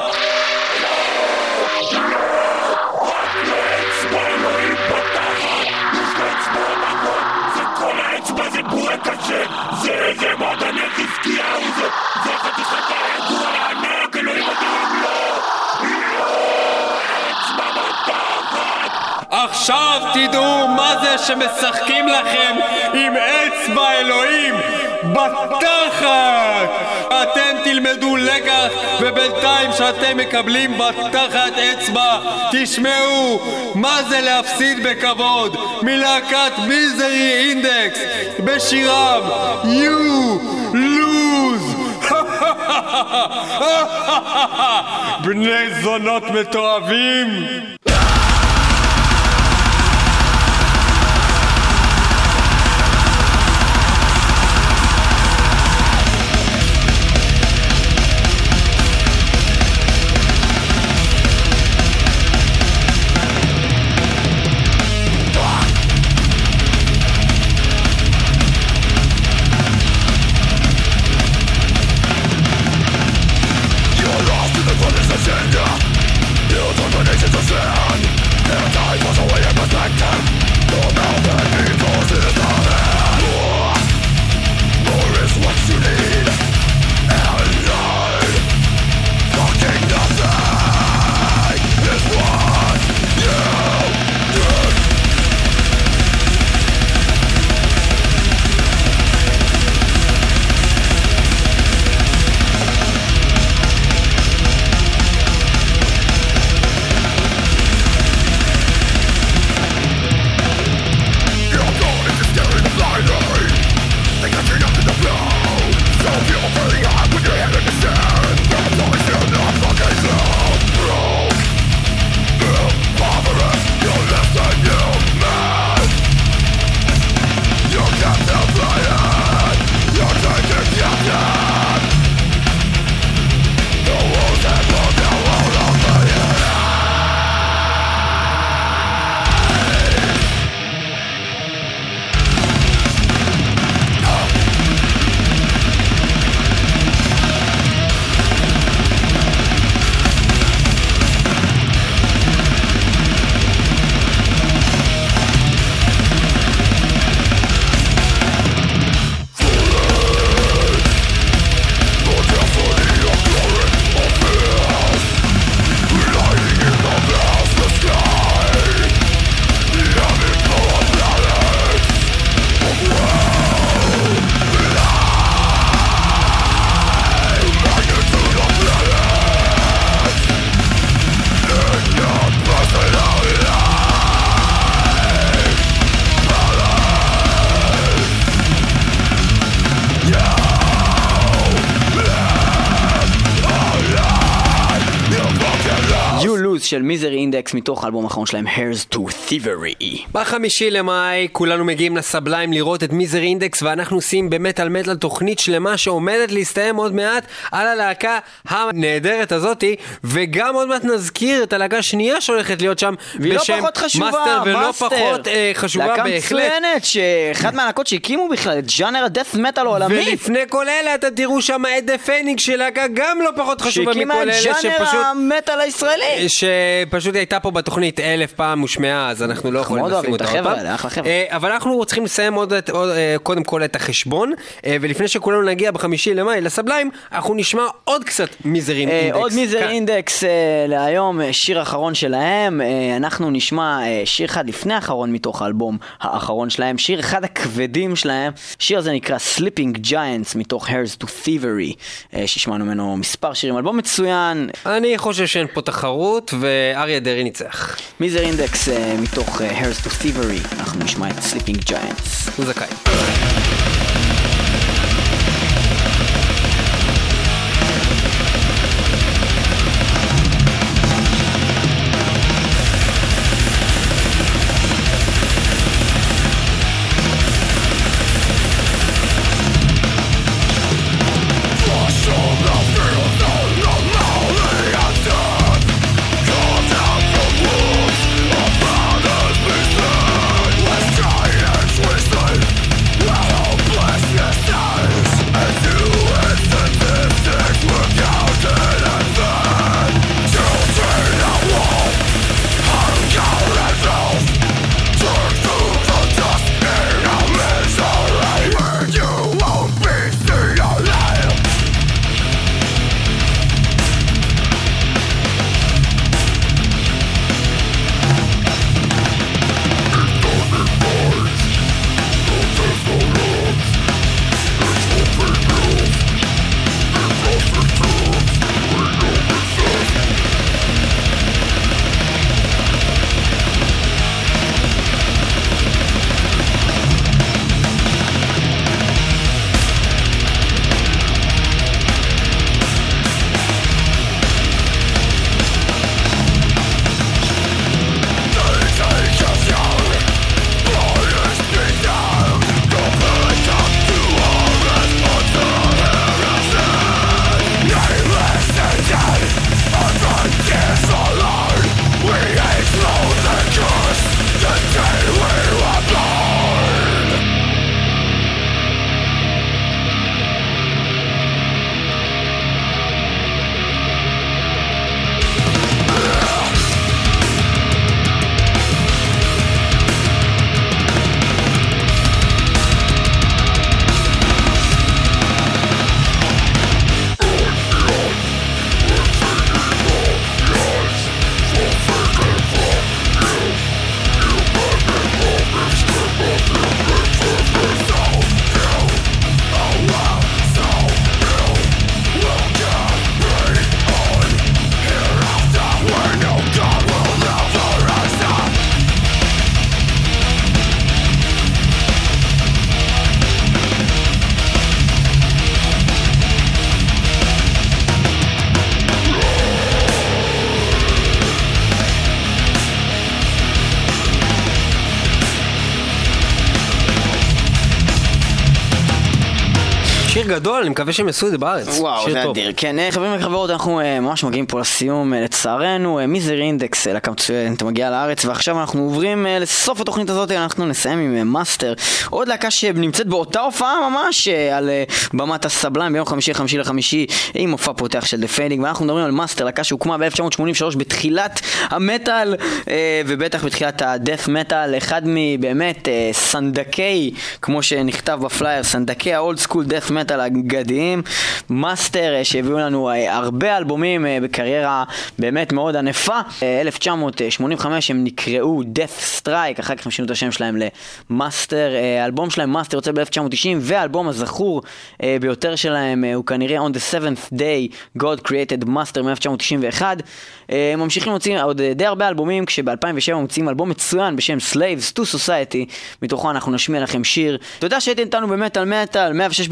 אצבע אלוהים בתחת! יש לו אצבע בתחת! זה כל האצבע, זה בורק הזה! זה, זה מועדוני חזקיהו! זה, זה חתיכת הידוע הענק! אלוהים אדירים! לא! לא! אצבע בתחת!
עכשיו תדעו מה זה שמשחקים לכם עם אצבע אלוהים בתחת! אתם תלמדו לקח, ובינתיים שאתם מקבלים בתחת אצבע תשמעו מה זה להפסיד בכבוד מלהקת מיזרי אינדקס בשירם You Lose. בני זונות מתועבים.
You're lost in the agenda. You don't know the nations of
Blues של מיזרי אינדקס מתוך האלבום האחרון שלהם Here's to Thievery.
בחמישי למאי כולנו מגיעים לסבליים לראות את מיזרי אינדקס, ואנחנו עושים במטל מטל תוכנית שלמה שעומדת להסתיים עוד מעט על הלהקה הנהדרת הזאתי, וגם עוד מעט נזכיר את הלהקה השנייה שהולכת להיות שם בשם מאסטר, ולא פחות אה, חשובה
להקה
בהחלט.
מצוינת, שאחד מהלהקות שהקימו בכלל את ז'אנר הדף מטל העולמי.
ולפני כל אלה אתה תראו שם את דה פניקס של להקה גם לא פחות חשובה מכל אלה,
שהקימה את ז'אנר המטל הישראלי,
שפשוט הייתה פה בתוכנית אלף פעם ושמעה, אז אנחנו לא יכולים לשים אותה עוד פעם. אבל אנחנו צריכים לסיים עוד, עוד, קודם כל את החשבון, ולפני שכולנו נגיע בחמישי למאי לסבליים, אנחנו נשמע עוד קצת מיזרי אינדקס.
עוד מיזרי אינדקס להיום, שיר אחרון שלהם. אנחנו נשמע שיר אחד לפני האחרון מתוך האלבום האחרון שלהם, שיר אחד הכבדים שלהם. שיר הזה נקרא Sleeping Giants מתוך Here's to Thievery, ששמענו ממנו מספר שירים. אלבום מצוין.
אני חושב שאין פה תחרות, ואריה דרי ניצח.
מיזרי אינדקס מתוך Here's to Thievery, אנחנו נשמע את Sleeping Giants.
הוא זכאי. שיר גדול, אני מקווה שהם עשו את זה בארץ.
וואו, זה אדיר. כן, חברים וחברות, אנחנו ממש מגיעים פה לסיום, לצערנו. מיזרי אינדקס, להקה מצוינת, מגיעה לארץ, ועכשיו אנחנו עוברים לסוף התוכנית הזאת, אנחנו נסיים עם מאסטר, עוד להקה שנמצאת באותה הופעה ממש, על במת הסבליים ביום חמישי, חמישי לחמישי, עם מופע פותח של דה פיינינג, ואנחנו מדברים על מאסטר, להקה שהוקמה ב-אלף תשע מאות שמונים ושלוש בתחילת המטל, ובטח בתחילת הדף מטל, אחד מבאמת סנדקי, כמו שנכתב בפלייר, סנדקי האולד סקול דף מטל הגדיים, מאסטר שהביאו לנו הרבה אלבומים בקריירה באמת מאוד ענפה. אלף תשע מאות שמונים וחמש הם נקראו Death Strike, אחר כך הם שינו את השם שלהם למאסטר. האלבום שלהם מאסטר יוצא ב-אלף תשע מאות תשעים, והאלבום הזכור ביותר שלהם הוא כנראה On the seventh day God created Master מ-אלף תשע מאות תשעים ואחת. הם ממשיכים להוציא עוד די הרבה אלבומים, כשב-אלפיים ושבע מוצאים אלבום מצוין בשם Slaves to Society, מתוכו אנחנו נשמיע לכם שיר. תודה שהייתם איתנו במטל מטל, מאה ושש בירושלים.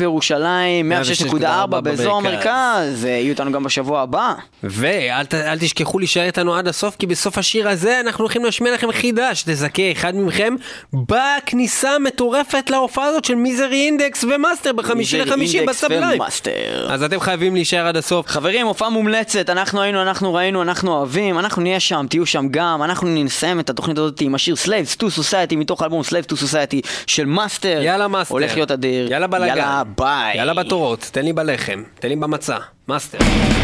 בסבליים, מאה ושש נקודה ארבע באזור המרכז. יהיו איתנו גם בשבוע הבא.
ואל ת, אל תשכחו להישאר איתנו עד הסוף, כי בסוף השיר הזה אנחנו הולכים להשמיע לכם חידה שתזכה אחד מכם בכניסה המטורפת להופעה הזאת של מיזרי אינדקס ומאסטר בחמישי לחמישי בסבליים. אז אתם חייבים להישאר עד הסוף.
חברים, הופעה מומלצת, אנחנו היינו, אנחנו ראינו, אנחנו אוהבים, אנחנו נהיה שם, תהיו שם גם, אנחנו נסיים את התוכנית הזאת עם השיר Slaves to Society מתוך האלבום Slaves to Society של מאסטר.
יאללה מאסטר.
הולך להיות אדיר.
יאללה בלגן.
יאללה ביי.
יאללה בתורות, תן לי בלחם, תן לי במצע. מאסטר.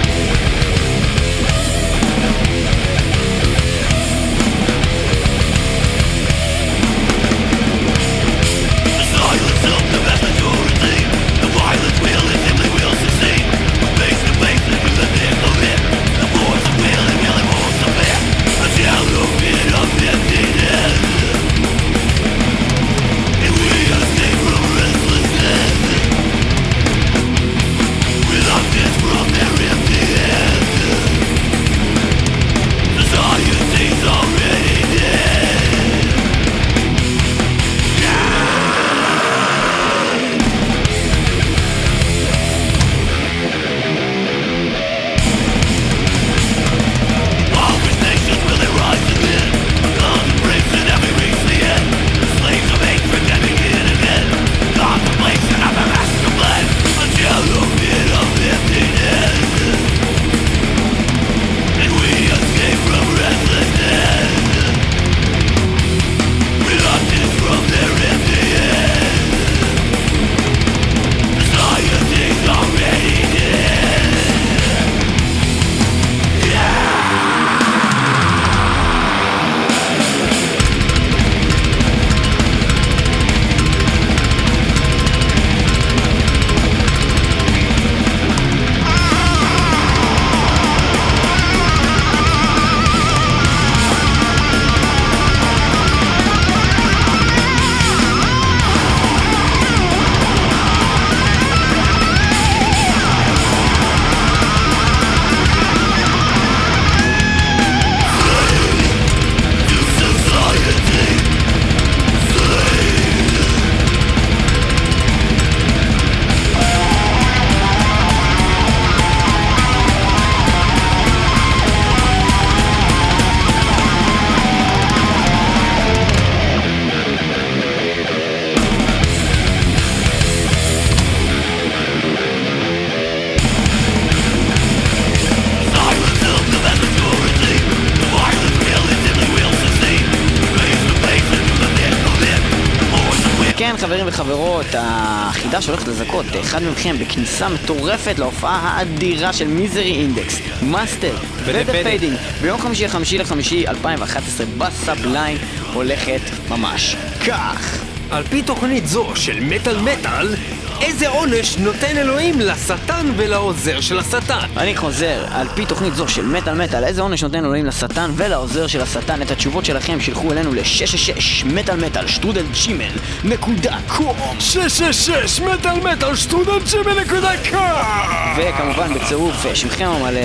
חברים וחברות, החידה שהולכת לזכות אחד מכם בכניסה מטורפת להופעה האדירה של מיזרי אינדקס, מאסטר ודה פיידינג ביום חמישי לחמישי לחמישי אלפיים ואחת עשרה בסבליים הולכת ממש כך.
על פי תוכנית זו של מטל מטל, איזה עונש נותן אלוהים לשטן ולעוזר של השטן?
אני חוזר, על פי תוכנית זו של מטל מטל, איזה עונש נותן אלוהים לשטן ולעוזר של השטן? את התשובות שלכם שילחו אלינו ל-שש שש שש מטל מטל שטרודל ג'ימל נקודה קום
שש שש שש מטל מטל שטרודל ג'ימל נקודה קום
וכמובן בצירוף שמכם המלא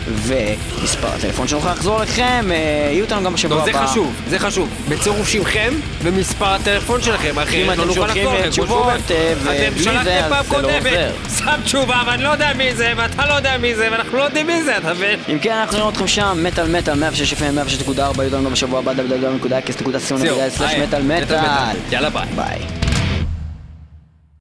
ומספר הטלפון שנוכל לחזור לכם. יהיו אותנו גם בשבוע הבא.
זה חשוב, זה חשוב. בצירוף שמכם ומספר הטלפון שלכם.
אם אתם שולחים תשובות ובלי זה אז זה לא עוזר.
שם תשובה ואני לא יודע מי זה ואתה לא יודע מי זה ואנחנו לא יודעים מי זה, אתה מבין?
אם כן, אנחנו נראה אתכם שם, מטל מטל מאה ושש אף אם מאה ושש נקודה ארבע. יהיו אותנו גם בשבוע הבא דאבליו דאבליו דאבליו נקודה אקס נקודה סי או נקודה סלש מטל מטל.
יאללה ביי.
ביי.